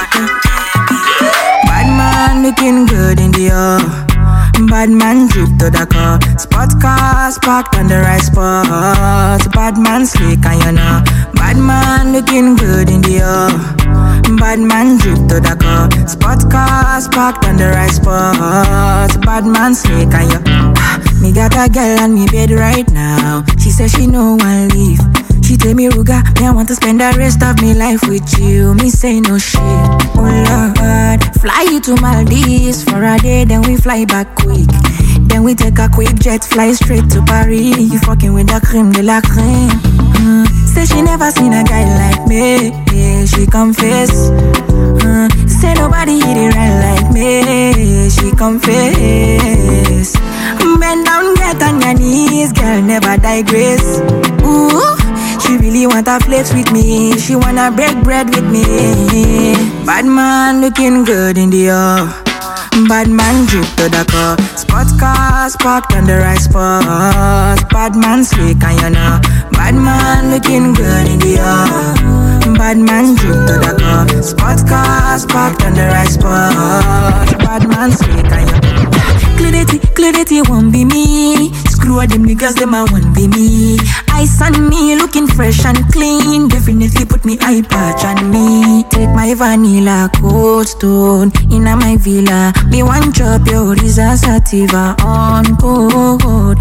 Bad man looking good in the air. Bad man drip to the car. Spot cars parked on the right spot. Bad man slick and you know. Bad man looking good in the air. Bad man drip to the car. Spot cars parked on the right spot. Bad man slick and you. Me got a girl on me bed right now. She says she no one leave. She tell me, Ruga, me I want to spend the rest of me life with you. Me say no shit. Oh Lord, fly you to Maldives for a day, then we fly back quick. Then we take a quick jet, fly straight to Paris. You fucking with the creme de la creme. Say she never seen a guy like me. Yeah, she confess. Say nobody hit it right like me. She confess. Bend down, get on your knees, girl, never digress. Ooh. She really wanna flex with me. She wanna break bread with me. Bad man looking good in the air. Bad man drip to the car. Spot cars parked on the right spot. Bad man slick and you know. Bad man looking good in the air. Bad man drip to the car. Spot cars parked on the right spot. Bad man slick and you know. Clarity won't be me. Screw all them niggas, them I won't be me. Ice on me, looking fresh and clean. Definitely put me eye patch on me. Take my vanilla cold stone in my villa. Me one chop your Risa Sativa on cold.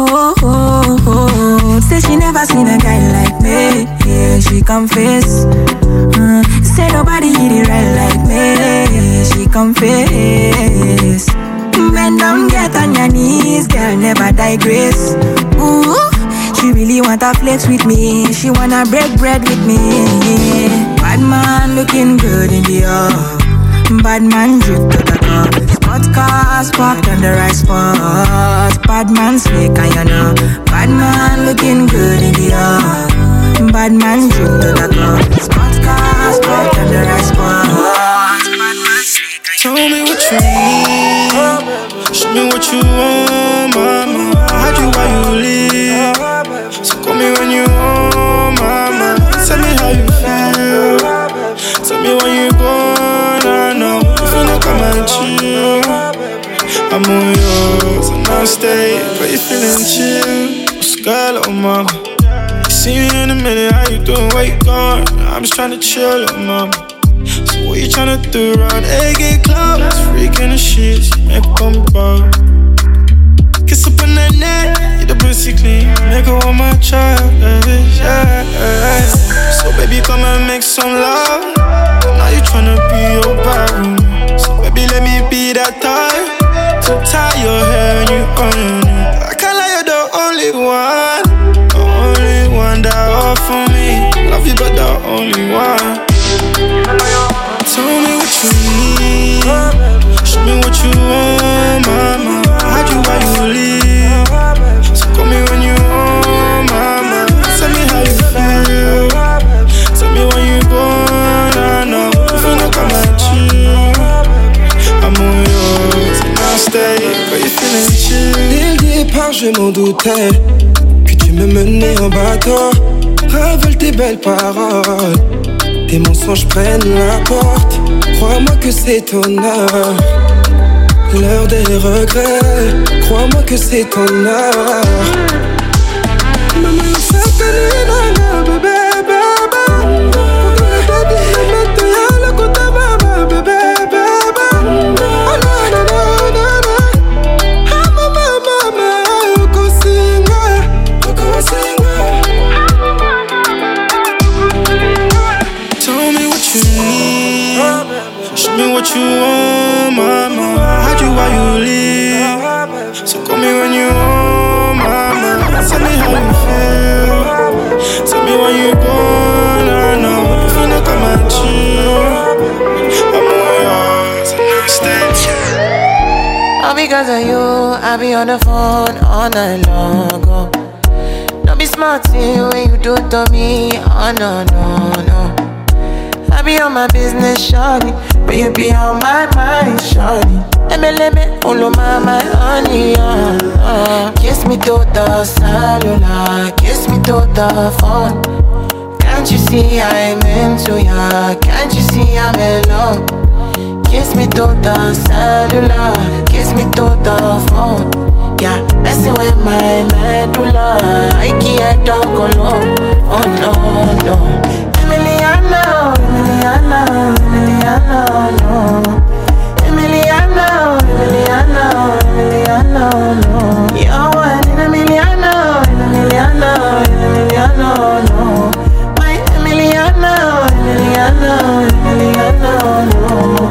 Say she never seen a guy like me. Yeah, she confess. Say nobody hit it right like me. She confess. Bend down, get on your knees, girl, never digress. Ooh, she really wanna flex with me. She wanna break bread with me. Bad man looking good in the air. Bad man drip to the car. Spot cars parked on the right spot. Bad man slick and you know. Bad man looking good in the air. Bad man drip to the car. Spot cars parked on the right spot. Bad man slick and you know. Tell me what you need. Show me what you want, mama. I do why you leave. So call me when you want, mama. Tell me how you feel. Tell me when you gonna know. If you look at my chill, I'm on yours and I'll stay. But you feeling chill. Skylar, oh mama. See you in a minute, how you doing? Where you going? I'm just tryna chill, oh mama. So what you tryna do around 8 clouds? Freaking the shit, make her come back. Kiss up on that neck, the pussy clean. Make her want my child, yeah. So baby, come and make some love. Now you tryna be your bathroom. So baby, let me be that time to tie your hair and you on your knee. I can't lie, you're the only one. The only one that offer me. Love you, but the only one. Tell me what you need. Show me what you want, mama. I m'en doutais que tu me menais en bateau. Ravale tes belles paroles, tes mensonges prennent la porte. Crois-moi que c'est ton heure, l'heure des regrets. Crois-moi que c'est ton heure. Maman, c'est bébé, bébé. What you want, mama? Hide you while you live. So call me when you want, mama. Tell me how you feel. Tell me why you gone, no. If you not come and chill, I'm all yours. Understand? All because of you, I be on the phone all night long. Oh. Don't be smart when you do to me. Oh no, no, no. I be on my business, shawty. But you be on my mind, shawty. Let all of my honey, Kiss me to the cellular, kiss me to the phone. Can't you see I'm into ya? Can't you see I'm in love? Kiss me to the cellular, kiss me to the phone. Yeah, messing with my medulla. I can't talk alone. Oh no, no. Emiliano, Emiliano, Emiliano, no. Emiliano, Emiliano, Emiliano, no. You're one in Emiliano, Emiliano, Emiliano, no. My Emiliano, Emiliano, Emiliano, no.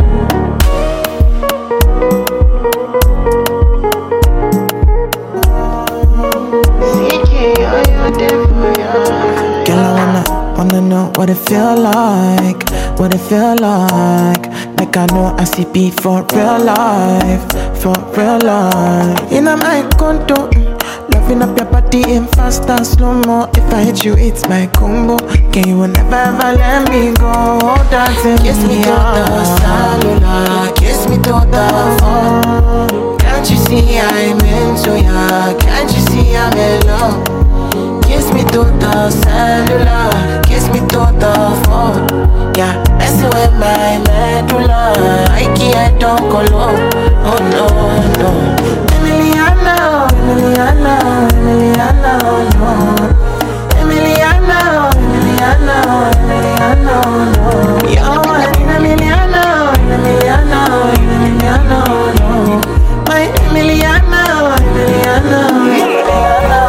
Girl, I wanna know what it feel like, what it feel like. Like I know I see beat for real life, for real life. In my condo, loving up your body in fast and slow-mo. If I hit you, it's my combo. Can you never ever let me go? Dancing kiss me to the cellular, kiss me to the phone. Can't you see I'm into ya? Can't you see I'm in love? Kiss me to the cellular, kiss me to the phone. Yeah, messing with my medulla. I can't talk alone. Oh no, no. Emiliano, Emiliano, Emiliano, no. Emiliano, Emiliano, Emiliano, no. You're one in Emiliano, Emiliano, Emiliano, no. My Emiliano, Emiliano, Emiliano.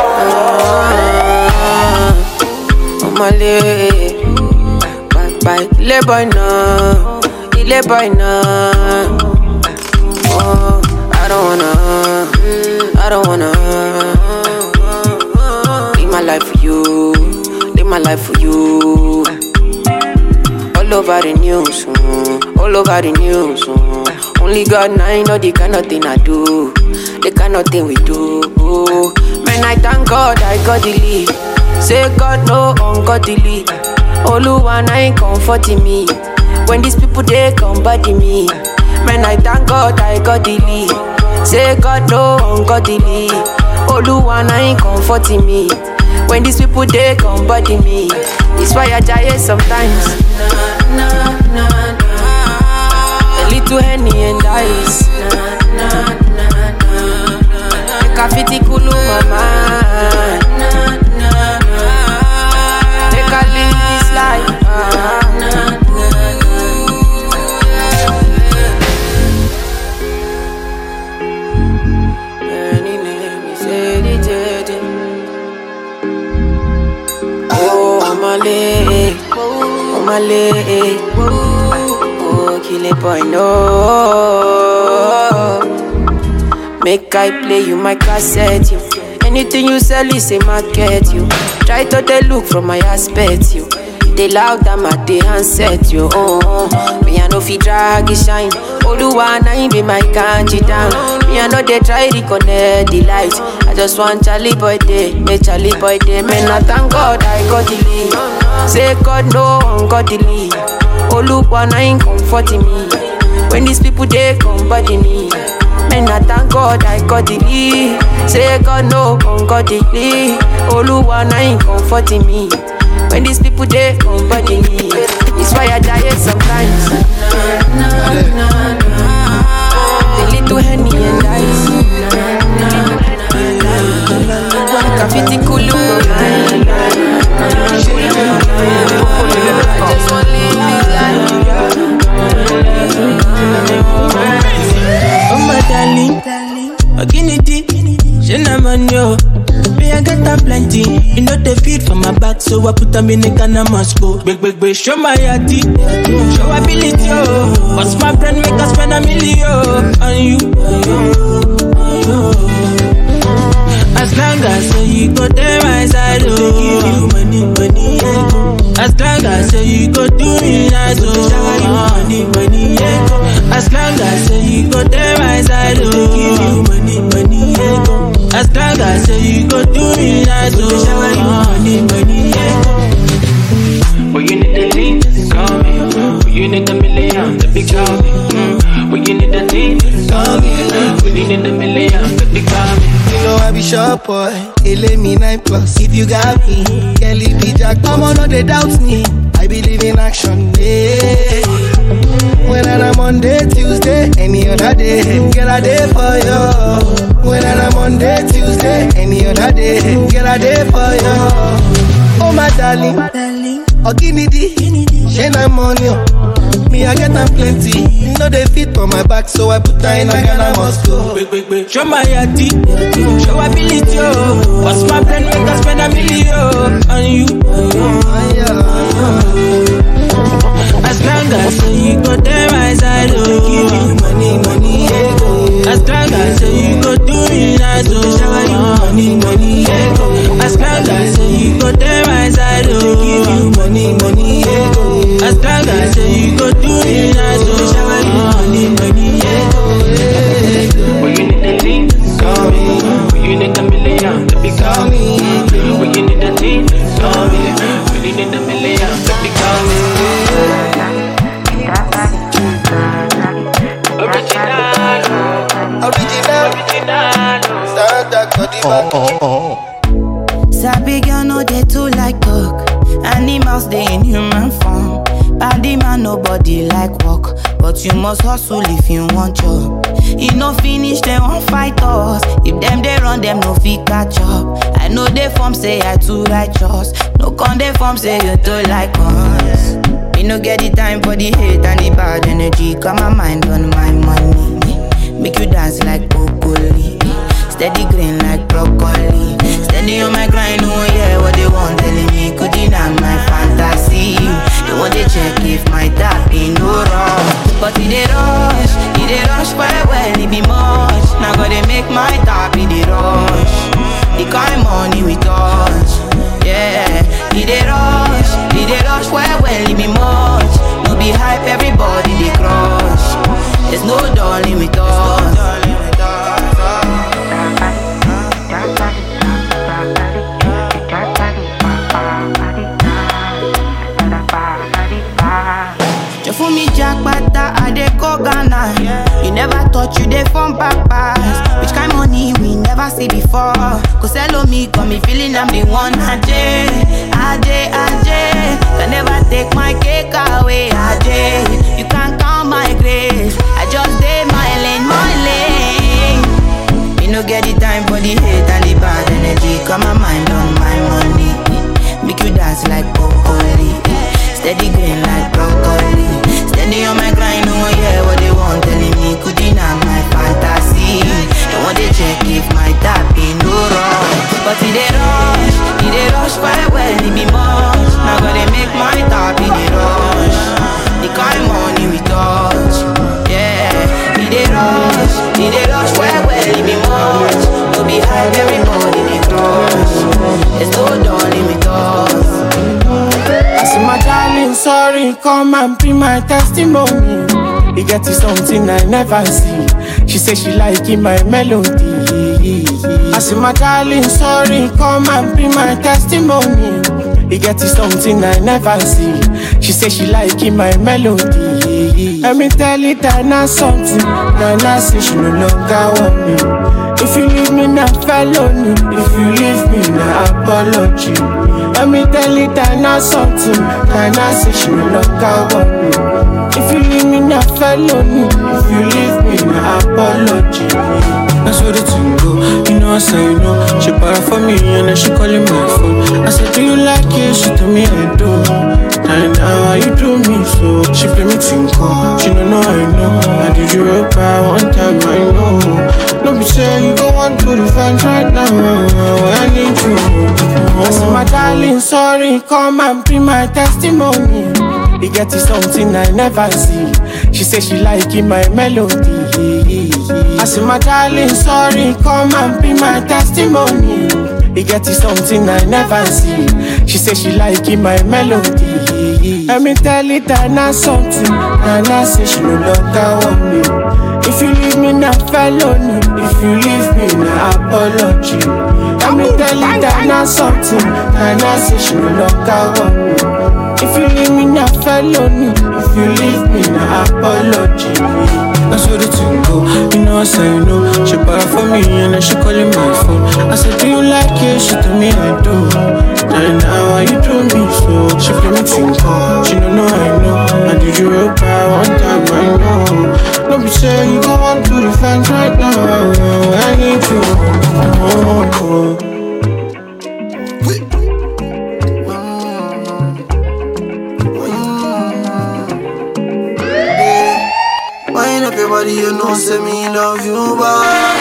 Male, bye, le boy now, le boy now. Oh, I don't wanna live my life for you, live my life for you. All over the news, all over the news. Only God and I know the kind of thing I do, the kind of thing we do. Man, I thank God I got the lead. Say God no ungodly. Oluwa na ain't comforting me. When these people they come body me. Man, I thank God I got the lead. Say God no ungodly. Oluwa na ain't comforting me. When these people they come body me. It's why I die sometimes. A little Henny and ice. Make a fitty kulu mama. Make a live this life. Oh my leg, oh kill it boy no. Make I play you my cassette you. Anything you sell is a market you. Try to they look from my aspect you. They loud them at the handset you. Me I know fi drag it shine. Oluwa na him be my kanji down. Me I know they try reconnect the light. I just want Charlie boy day, make Charlie boy day. Man I thank God I got the lead. Say God no ungodly. Oluwa na him comforting me. When these people they come body me. morning, I thank God I got the lead. Say God no, got the lead. Oluwa na ain't comforting me. When these people they body me, it's why I die sometimes. The little Henny and ice. Can fit it cool Oh my darling, Oginity, Shenamanyo. Me I get a plenty, you know the feed for my back, so I put them in the Ghana must go. Big, show my yati, show ability, oh. What's my friend make us spend $1 million on you. As long as you go there my side, oh. Give you money, yeah. As long as you go do me nice, oh. Money, yeah. As long as you go there my side, oh. Give you money, yeah. As long as you go do me nice, oh. Money, yeah. When you need the lean, call me. When you need $1 million, baby, call me. When you need the lean, call me. When you need $1 million, baby, call me. You know I be sharp boy, it let me 9+. If you got me, can't leave me jack. Come on, no they doubt me. I believe in action, yeah. When I'm Monday, Tuesday, any other day, get a day for you. When I'm Monday, Tuesday, any other day, get a day for you. Oh my darling, Oginity, shine I'm on you. Me I get them plenty, you know they fit on my back, so I put her in a Ghana must go. Big, show my yati, show ability, oh. What's my friend make us spend $1 million on you. As long as you go there my side, oh. Give you money, yeah. As long as you go do me nice, oh. Money, yeah. As long as you go there my side, oh. Give you money, yeah. As long as you go do me nice, oh. Money, yeah. When you need the lean, call me. When you need $1 million, baby, call me. When you need the lean, call me. When you need $1 million, baby, call me. Sabi girl no they too like talk. Animals they in human form. Body man nobody like walk, but you must hustle if you want job. You no finish they won't fight us. If them they run them no fit catch up. I know they form say I too righteous. No con they form say you too like us. Me no get the time for the hate and the bad energy. Got my mind on my money. Make you dance like broccoli. Steady green like broccoli. Steady on my grind, oh yeah, what they want telling me. Could deny my fantasy. They want to check if my tap ain't no wrong. But it they rush well, it be much. Now gotta make my tap in the rush. The kind money we touch, yeah. It they rush well, it be much. No be hype, everybody they crush. There's no darling with us. For me jackpata, I dey go Ghana. You never thought you dey from papas. Which kind money we never see before. Cause hello me, got me feeling I'm the one. Ajay. Can never take my cake away. Ajay, you can't count my grace. I just did my lane. Me no get the time for the hate and the bad energy. Got my mind on my money. Make you dance like broccoli. Steady green like broccoli. Steady on my grind, oh yeah, what they want telling me. Could deny my fantasy. They want to check if my tap ain't no wrong. But it they rush quite well, it be much. Now gotta make my tap in the rush. The kind money we touch, yeah. It they rush quite well, it be much. No be hype, everybody they crush. There's no darling with us. I see my darling, sorry, come and be my testimony. He get you something I never see. She say she liking my melody. I see my darling, sorry, come and be my testimony. He get you something I never see. She say she liking my melody. Let me tell it that not something. Nana say she no longer want me. If you leave me now, felony. If you leave me now, apology. Let me tell it that not something. Nana say she no longer want me. If you leave me now, felony. If you leave me now, apology. That's what the thing go. You know I say you know. She para for me and then she calling my phone. I said, do you like it? She told me I do. And now why you do me so? She play me tinko. She don't know I know. I did you up by one time I know. Don't be saying you go on to the fans right now. I need you. I said my darling, sorry, come and be my testimony. It get you something I never see. She said she liking my melody. I said my darling, sorry, come and be my testimony. It get you something I never see. She said she liking my melody. Let me tell it that not something. Nana say she no longer want me. If you leave me now, felony. If you leave me now, apology. Let me tell it that not something. Nana say she no longer want me. If you leave me now, felony. If you leave me now, apology. That's what the thing go. You know I say you know. She para for me and then she calling my phone. I said, do you like it? She told me I do. And now why you do me so? She play me tinko. She don't know I know. I did you real bad one time I know. Don't be saying you go on to the fans right now. I need you. Wind up your body, you know, say me love you bad.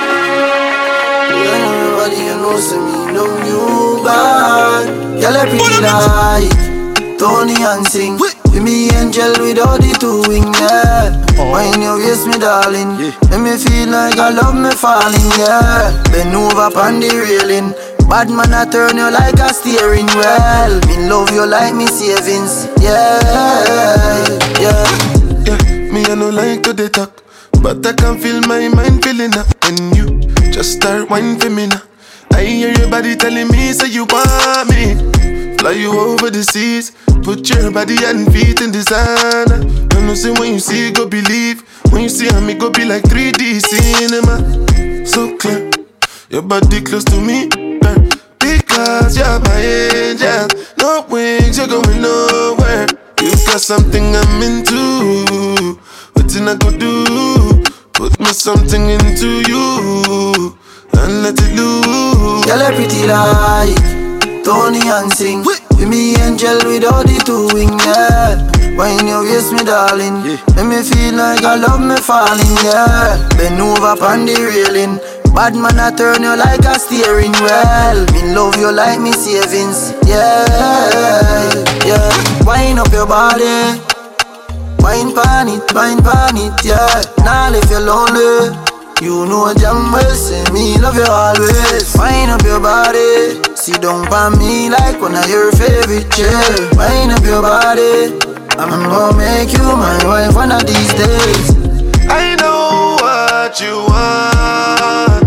Wind up your body, you know, say me love you bad. Girl, I pretty like Tony and sing. Be me angel with all the two wings, yeah. Wind your waist, me darling. Make me feel like I love me falling, yeah. Bend over on the railing. Bad man, I turn you like a steering wheel. Me love you like me savings, yeah, yeah. Me I no like to dey talk, but I can feel my mind feeling up. And you just start whining for me now. I hear your body telling me, say you want me. Fly you over the seas, put your body and feet in designer. I know say when you see, go believe. When you see me, go be like 3D cinema. So clear, your body close to me, because you're my angel. No wings, you're going nowhere. You got something I'm into. What did I go do? Put me something into you and let it loose. Girl, I pretty like Tony and sing. Be me angel with all the two wings, yeah. Wind your waist, me darling. Make me feel like I love me falling, yeah. Bend over on the railing. Bad man, I turn you like a steering wheel. Me love you like me savings, yeah, yeah. Wind up your body, wine pan it, yeah. Now if you're lonely, you know damn well, say me love you always. Wind up your body, sit down by me like one of your favorite chair. Wind up your body, I'm gonna make you my wife one of these days. I know what you want,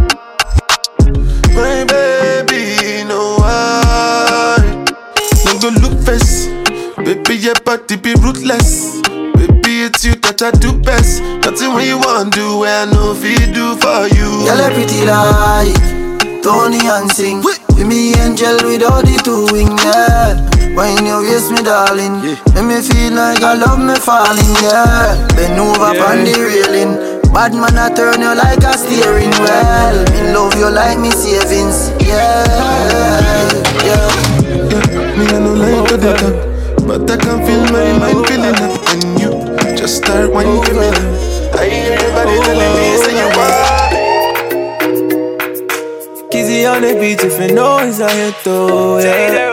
my baby, no why. No go look face, baby, your body be ruthless. Baby, it's you that I do best. Nothing when you want do, where I know if you do for you. Girl, I pretty like Tony and sing. Be me angel with all the two wings, yeah. Wind your waist, me darling. Make me feel like I love me falling, yeah. Bend over on the railing. Bad man, I turn you like a steering wheel. Me love you like me savings, yeah, yeah. Me I no like to talk, but I can feel my mind feeling up. And you just start whining for me now. I hear your body telling me, say you want. Kizzy on the beat, if you know it's a hit though, yeah.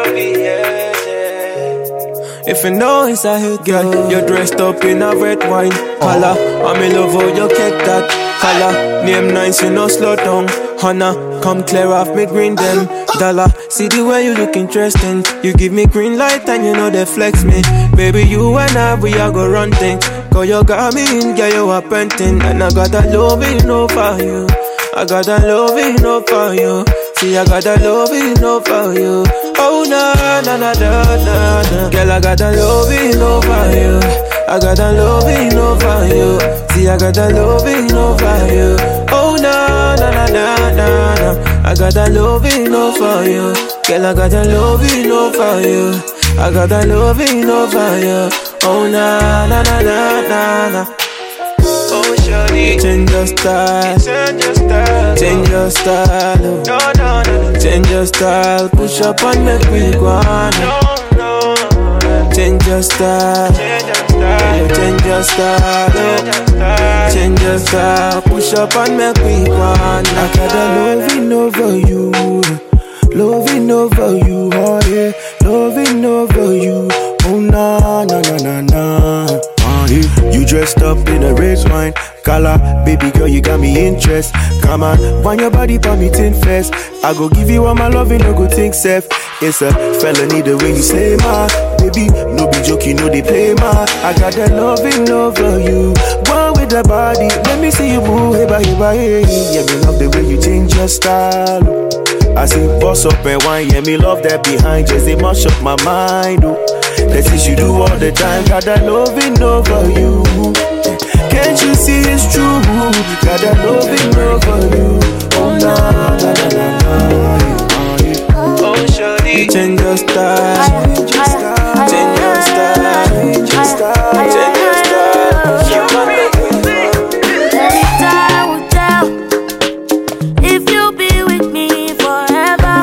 If you know it's a hit, girl, you're dressed up in a red wine color. I'm in love how you get that color. Name nice, you know slow down. Hannah, come clear off me green them dollar. See the way you look interesting. You give me green light and you know they flex me. Baby, you and I, we are go run things. Cause you got me in, girl, you are painting. And I got that love enough for you. I got that love enough for you. See, I got that love enough for you. Oh, na, na, na, na, na, na. Girl, I got that love enough for you. I got a loving over you. See, I got a loving over you. Oh, na na na na na na. I got a loving over you. Girl, I got a loving over you. I got a loving over you. Oh, na na na na na na. Oh, shawty, change your style. Change your style. Change your style. No, no, no. Change your style. Push up and make me go on. Change your style. Change your style. Change your style. Push up and make me go on. I got a loving over you. Loving over you, oh yeah. Loving over you. Oh na na na na na. You dressed up in a red wine color, baby girl, you got me interest. Come on, wind your body for me tin fest. I go give you all my loving, no go think safe. It's a felony the way you say ma, baby. No be joke, you know they play ma. I got that loving over you. One with the body, let me see you move, hey, hey, hey. Yeah, me love the way you change your style. I see boss up and wine, yeah, me love that behind. Just they mash up my mind, oh. That's what you do all the time. Got that loving over you. Can't you see it's true? Got that loving over you. Oh na na na na na. Oh shawty, change your style. Change your style. Change your style. Change your style. Change your style. You want me? Only time will tell if you'll be with me forever.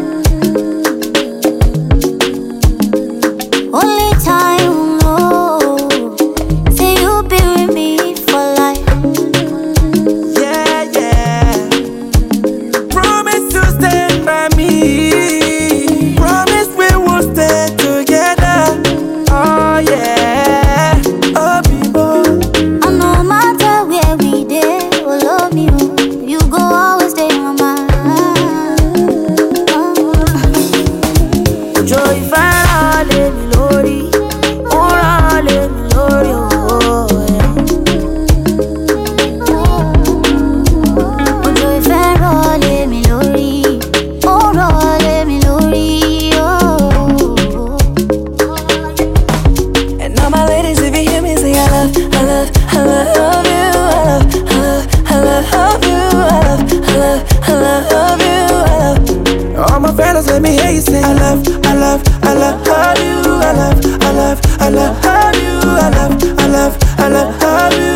Only time will know. Say you'll be with me for life. Yeah, yeah. Promise to stand by me. Promise we will stay together. Oh yeah. Oh people. And no matter where we dey, we'll love you. You go always stay in my mind. Joy fire, let me lori. Ora, let me lori. Joy fire, let me lori. Ora, let me lori. And all my ladies, if you hear me say I love you, I love you, I love you, I love you. All my fellas, let me hear you say I love you, I love you, I love you, I love you.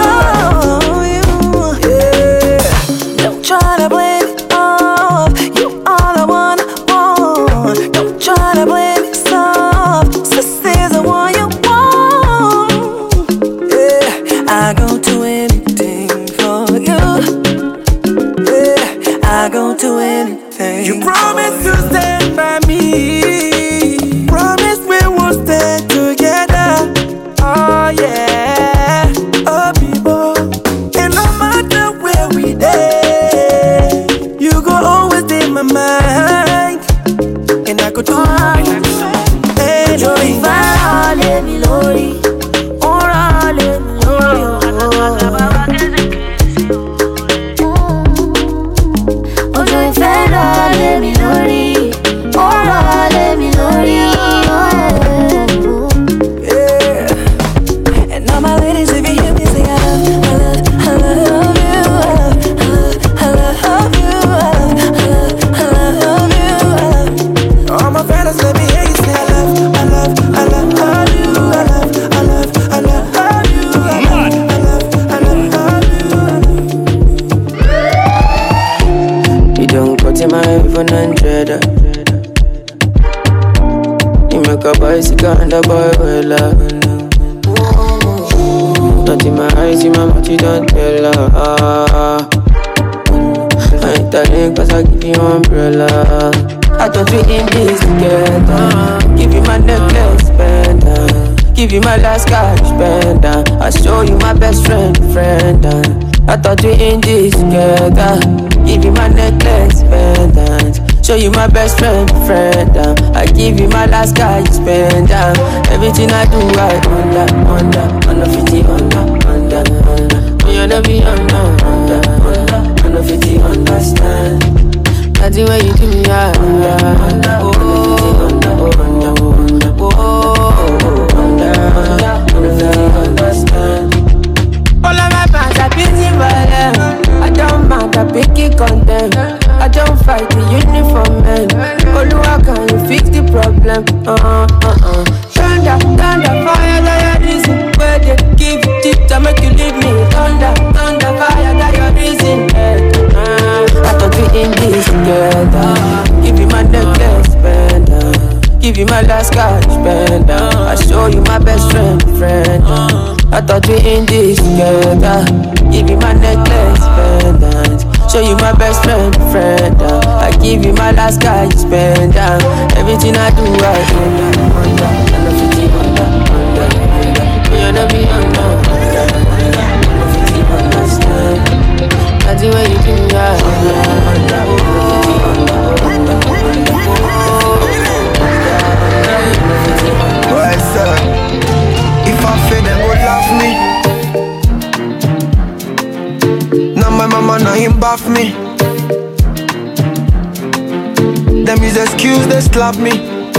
Yeah. Don't try to blame it off. You all I want. Don't try to blame it soft. Sister's the one you want. Yeah, I go do anything for you. Yeah, I go do anything. You promise to stand by me. Promise we will stay together. Oh yeah. Oh people. And no matter where we dey, you go always in my mind. And I could do Joy fire, let me lori. Ora, let me lori. Oh, joy fire, let me lori. Ora, let me lori. Yeah. And all my ladies, if you hear me say I love you, I love you, I love you, I love you. all my fellas, let me hear you say I love you, I love you, I love you, I love you, You don't cut in my iPhone 100. You make a bicycle and a boy well up. Not in my eyes, in my mouth, you don't tell her. I ain't telling cause I give you umbrella. I thought we in this together. Give you my necklace, pendant. Give you my last cash, pendant. I show you my best friend. I thought we in this together. Give you my necklace, pendant. Show you my best friend. I give you my last cash, pendant. Everything I do, I under 50, under. You never be under 50, understand. That's the way you do me, under. them. Thunder, fire, that your reason. Where they give you tip to make you leave me. Thunder, fire, that your reason. I thought we in this together. Give you my necklace, spender. Give you my last cash, spender. I show you my best friend. I thought we in this together. Give you my necklace, spender. Show you my best friend. I give you my last cash, spender. Everything I do, I under. You're not be under. That's the way you do that. Well, sir, if I fail, them would laugh me. Now my mama, now him bath me. Them is excuse, they slap me.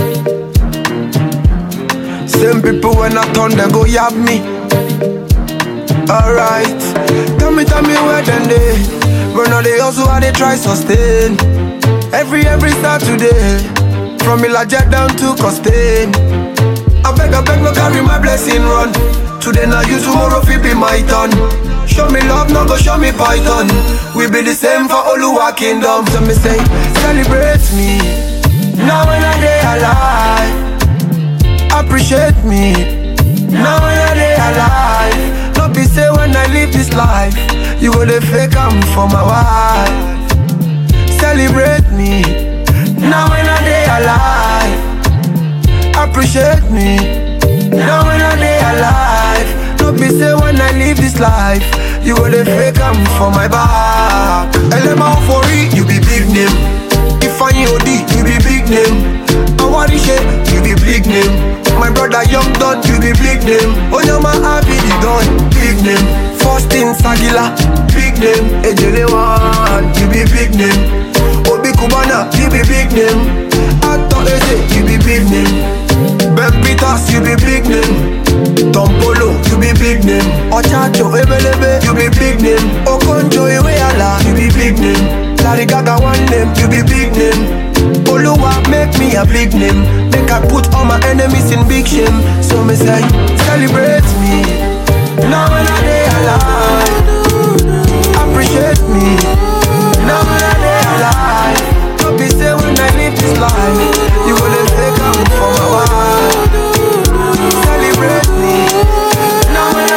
Same people when I turn, they go yab me. Alright, tell me where then they. Run all they also how they try sustain. Every Saturday, from Ilaja down to Costain. I beg, no carry my blessing run. Today now you, tomorrow fi be my turn. Show me love, no go show me python. We be the same for Oluwa Kingdom. So me say, celebrate me. Now when I day alive, appreciate me. Now when I day alive, no be say when I live this life, you go to fake I'm for my wife. Celebrate me. Now when I day alive, appreciate me. Now when I day alive, no be say when I live this life, you go to fake I'm for my back. Elema Ofori, you be big name. Ifeanyi Odi, you be big name. Awarishe, you be big name. My brother Young Don, you be big name. Onyama Abidi Don, big name. Faustin Sagila, big name. Ejelewan, you be big name. Obi Kubana, you be big name. Ato Eze, you be big name. Ben Peters, you be big name. Tom Polo, you be big name. Ochacho Ebelebe, you be big name. Okonjo Iweala, you be big name. Larry Gaga one name, you be big name. Oluwa make me a big name. Make I put all my enemies in big shame. So me say, celebrate me. Now when I day alive, appreciate me. Now when I day alive, don't be say when I live this life, you will take up for my wife. Celebrate me. Now when I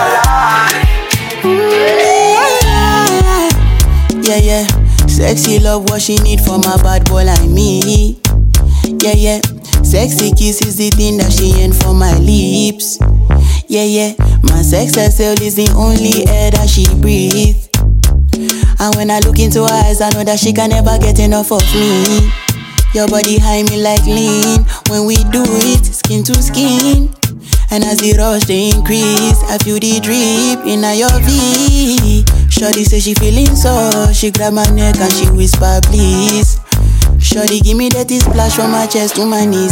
day alive. Yeah. Sexy love, what she need from a bad boy like me. Yeah. Sexy kiss is the thing that she ain't for my lips. Yeah. My sex herself is the only air that she breathes. And when I look into her eyes, I know that she can never get enough of me. Your body high me like lean. When we do it, skin to skin. And as the rush they increase, I feel the drip in your V. Shorty say she feeling so, she grab my neck and she whisper please. Shorty give me that splash from my chest to my knees.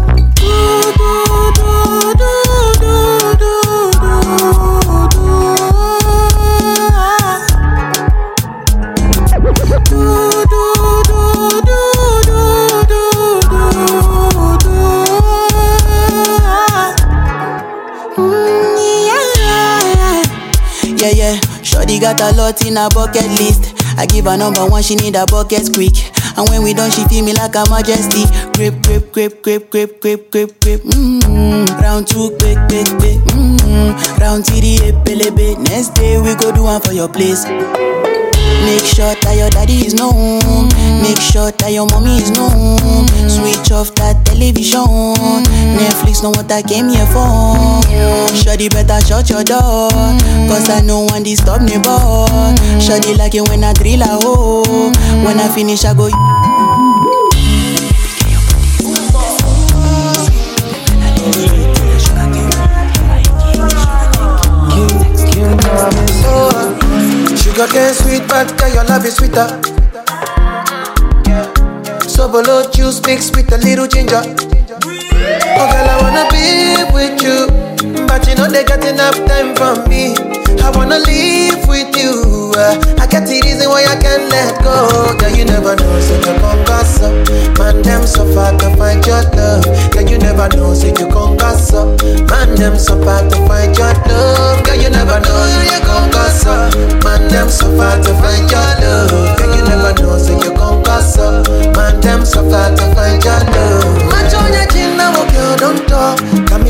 Yeah. Shorty got a lot in her bucket list. I give her number one, she need a bucket quick. And when we done, she feel me like a majesty. Grip. Round two, quick. Round three, epelebe. Next day we go do one for your place. Make sure that your daddy is known. Make sure that your mommy is known. Switch off that television. Netflix know what I came here for. Shorty better shut your door, cause I know one disturb me boy. Shorty like it when I drill a hole. When I finish I go. Sugar cane sweet, but girl, your love is sweeter. So below juice mixed with a little ginger. Oh girl, I wanna be with you, but you know they got enough time for me. I wanna live with you. I got the reason why I can't let go. Girl, you never know, such a congasso. Man, them so far to find your love.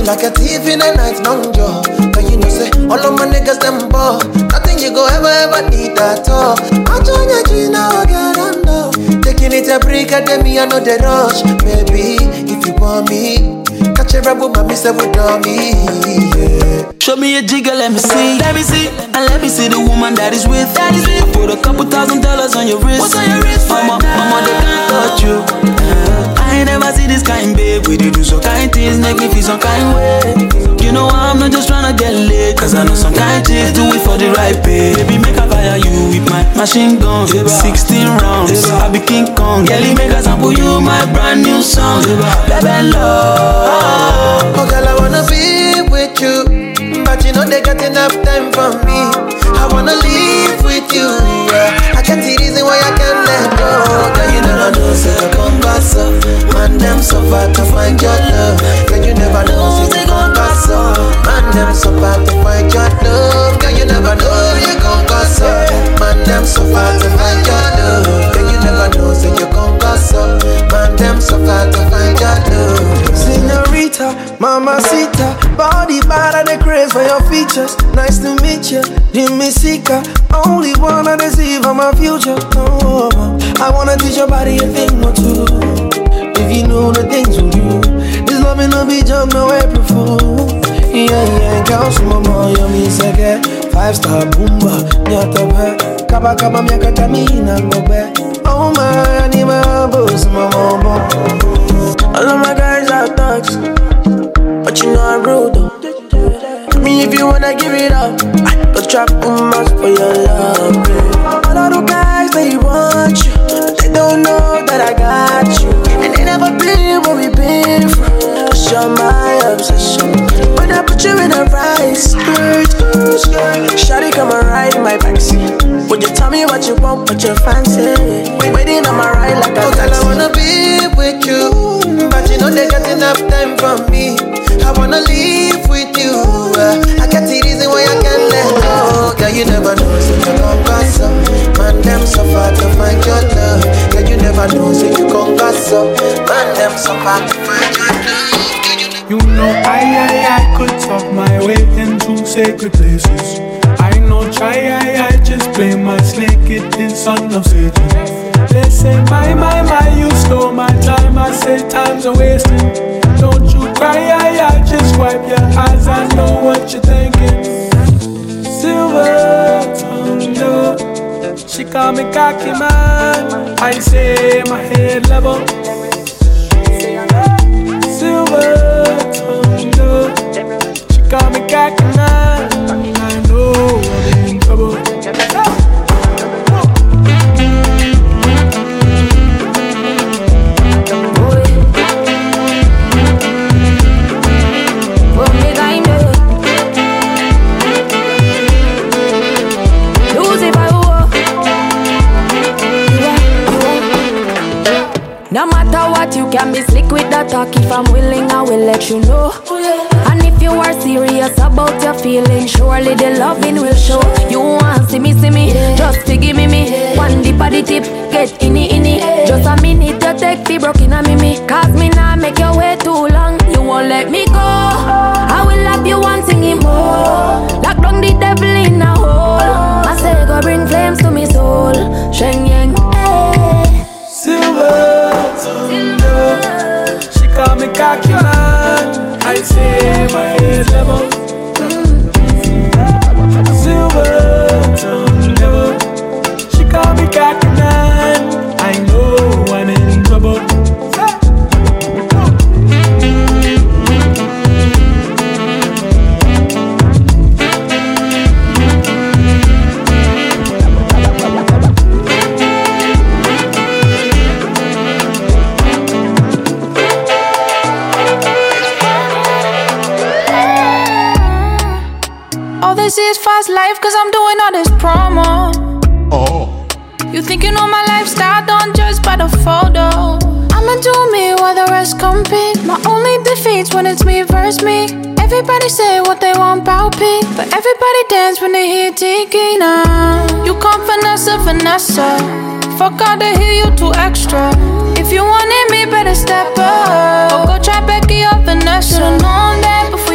like a thief in the night, long jaw. But you know, say, all of my niggas, them ball. Nothing you go ever need at all. I'm trying to get now, get under. Taking it a break, I me, I know the rush. Baby, if you want me, catch a rebel, my miss with me. Yeah. Show me a jigger, let me see. Let me see. And let me see the woman that is with. I put a couple $1,000 on your wrist. What's on your wrist? Mama, they can't touch you. I ain't never see this kind, babe. We do so kind things, make me feel some kind way. You know I'm not just tryna get laid, cause I know some kind chicks do it for the right pay. Baby, make a fire you with my machine gun. 16 rounds, I be King Kong. Girlie, make a sample you my brand new song. Baby, love. Oh girl, I wanna be with you, but you know they got enough time for me. I wanna live with you, yeah. I can't see reason why I can't let go. Girl, you never know, say you come pass up. Man, them so far to find your love. Girl, you never know, say you come pass up. Man, them so far to find your love. Girl, you never know, you come pass up. Man, them so far to find your love. Girl, you never know, say you come pass up. Man, them so far to find your love. Señorita, mamacita, body bad and the craze for your features. Nice to meet you, Jimmy Sika. Only wanna deceive on my future. Oh, I wanna teach your body a thing or two. If you know the things we do, this love ain't no be jump, no April Fool. Yeah, girl, so mama, you me seke 5-star boomba, nyata be kaba kaba miaka tamina ngobe. Oh my, I need my boss, mama. All of my guys are thugs, but you know I'm rude though. Me if you wanna give it up, I go trap much for your love, babe. All of the guys, they want you. They don't know that I got you. And they never been where we been from. Cause you're my obsession. When I put you in a right skirt, shawty come and ride in my backseat. Would you tell me what you want, what you fancy? Waiting on my ride like a taxi. I wanna be with you, but you know they got enough time for me. I wanna live with you. I can't see reason why I can't let go. Girl, you never know, so you come pass up. Man, them so far to find your love. Girl, you never know, so you come pass up. Man, them so far to find your love. You know I could talk my way into sacred places. I know try, I just play my snake, it is son of Satan. They say my, you stole my time. I say time's a wasting. Don't you cry, I just wipe your eyes. I know what you're thinking. Silver tongue, she call me cocky man. I say my head level. Silver tongue, she call me cocky man. I know I'm in trouble. No matter what, you can be slick with the talk. If I'm willing, I will let you know. And if you are serious about your feelings, surely the loving will show. You want see me, just forgive me. One dip at the tip, get inni. Just a minute to take the broken on me. Cause me nah make your way too long. You won't let me go. I will love you one singing more. Lock down the devil in a hole. I say go bring flames to me soul. Sheng yang, hey. Silver thunder, she call me cocky man. I say my head level. Silver thunder, she call me cocky man. I know I'm in trouble. This is fast life cause I'm doing all this promo. Oh. You think you know my lifestyle, don't judge by the photo. I'ma do me while the rest compete. My only defeat's when it's me versus me. Everybody say what they want about me, but everybody dance when they hear Tiki now. You come finesse. Fuck out to hear you too extra. If you wanted me, better step up. Or go try Becky or Vanessa. Should've known that before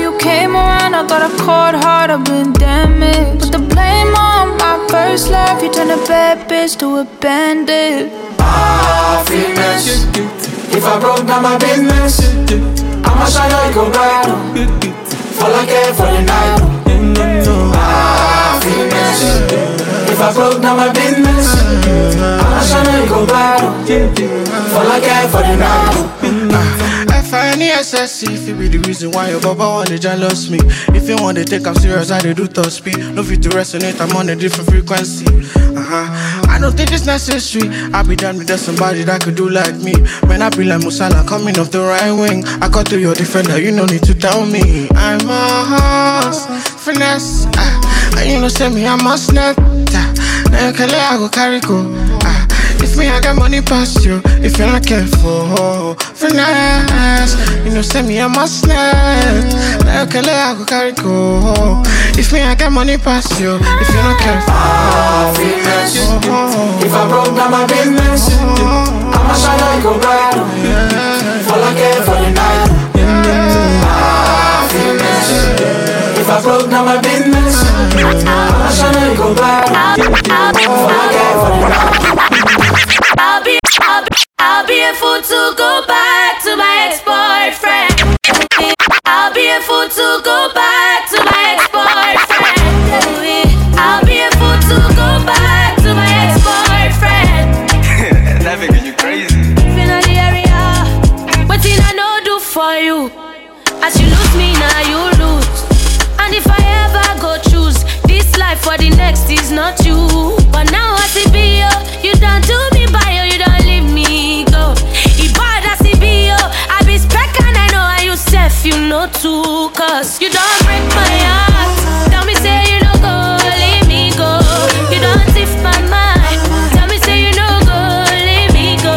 that bitch to a bandit. Happiness. If I broke down my business, I'ma shine like a bright. Fall again for the night. Happiness. If I broke down my business, I'ma shine like a bright. Fall again for the night. F-I-N-E-S-S-E, if it be the reason why your baba wanna jealous me. If you want to take I'm serious, I do top speed. No fit to resonate, I'm on a different frequency. I don't think it's necessary. I be done with just somebody that could do like me. Man, I be like Musala coming off the right wing. I cut to your defender, you no need to tell me. I'm a horse, finesse. And you know say me, I'm a snap. Now you can let I go carry go. If me, I got money past you. If you're not careful, finesse. You know, send me a must net. Like I go carry go. If me, I got money past you. If you're not careful, finesse. If I broke down my business, I'ma shine like a bright. Fall again for the night. Finesse. If I broke down my business, I'ma shine like a bright. Fall again for the night. I'll be a fool to go back to my ex-boyfriend. I'll be a fool to go back to my ex-boyfriend. I'll be a fool to go back to my ex-boyfriend. That making you crazy. In the area, what did I know do for you? As you lose me, now you lose. And if I ever go choose this life for the next is not you. But now I see you, you don't do me by you don't leave me go. If I see you, I be spec and I know how you self, you know too. Cause you don't break my heart. Tell me say you don't go, leave me go. You don't tiff my mind. Tell me say you don't go, leave me go.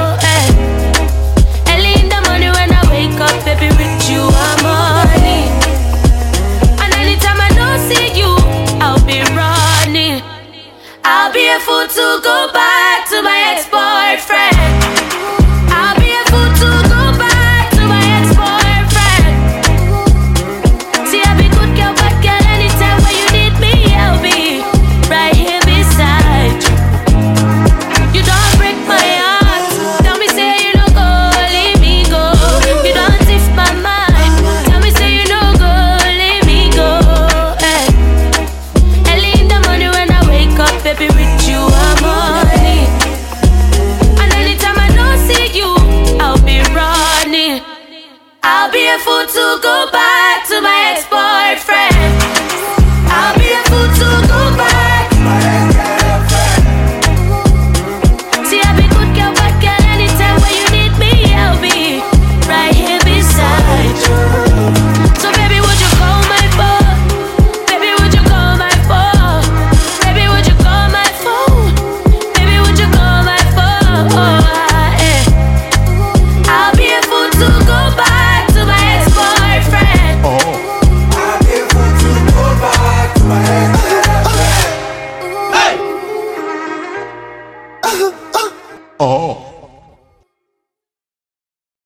Early in the morning when I wake up, baby, with you I'm money. And anytime I don't see you, I'll be running. I'll be a fool to go back to my ex-boyfriend. I'll be a fool to go back to my ex-boyfriend. See, I'll be good girl, bad girl, anytime when you need me, I'll be right here beside you. You don't break my heart. Tell me say you don't go, leave me go. You don't tiff my mind. Tell me say you don't go, leave me go. Early in the morning when I wake up, baby, with you I'm money. And anytime I don't see you, I'll be running. I'll be a fool to go back to my ex-boyfriend.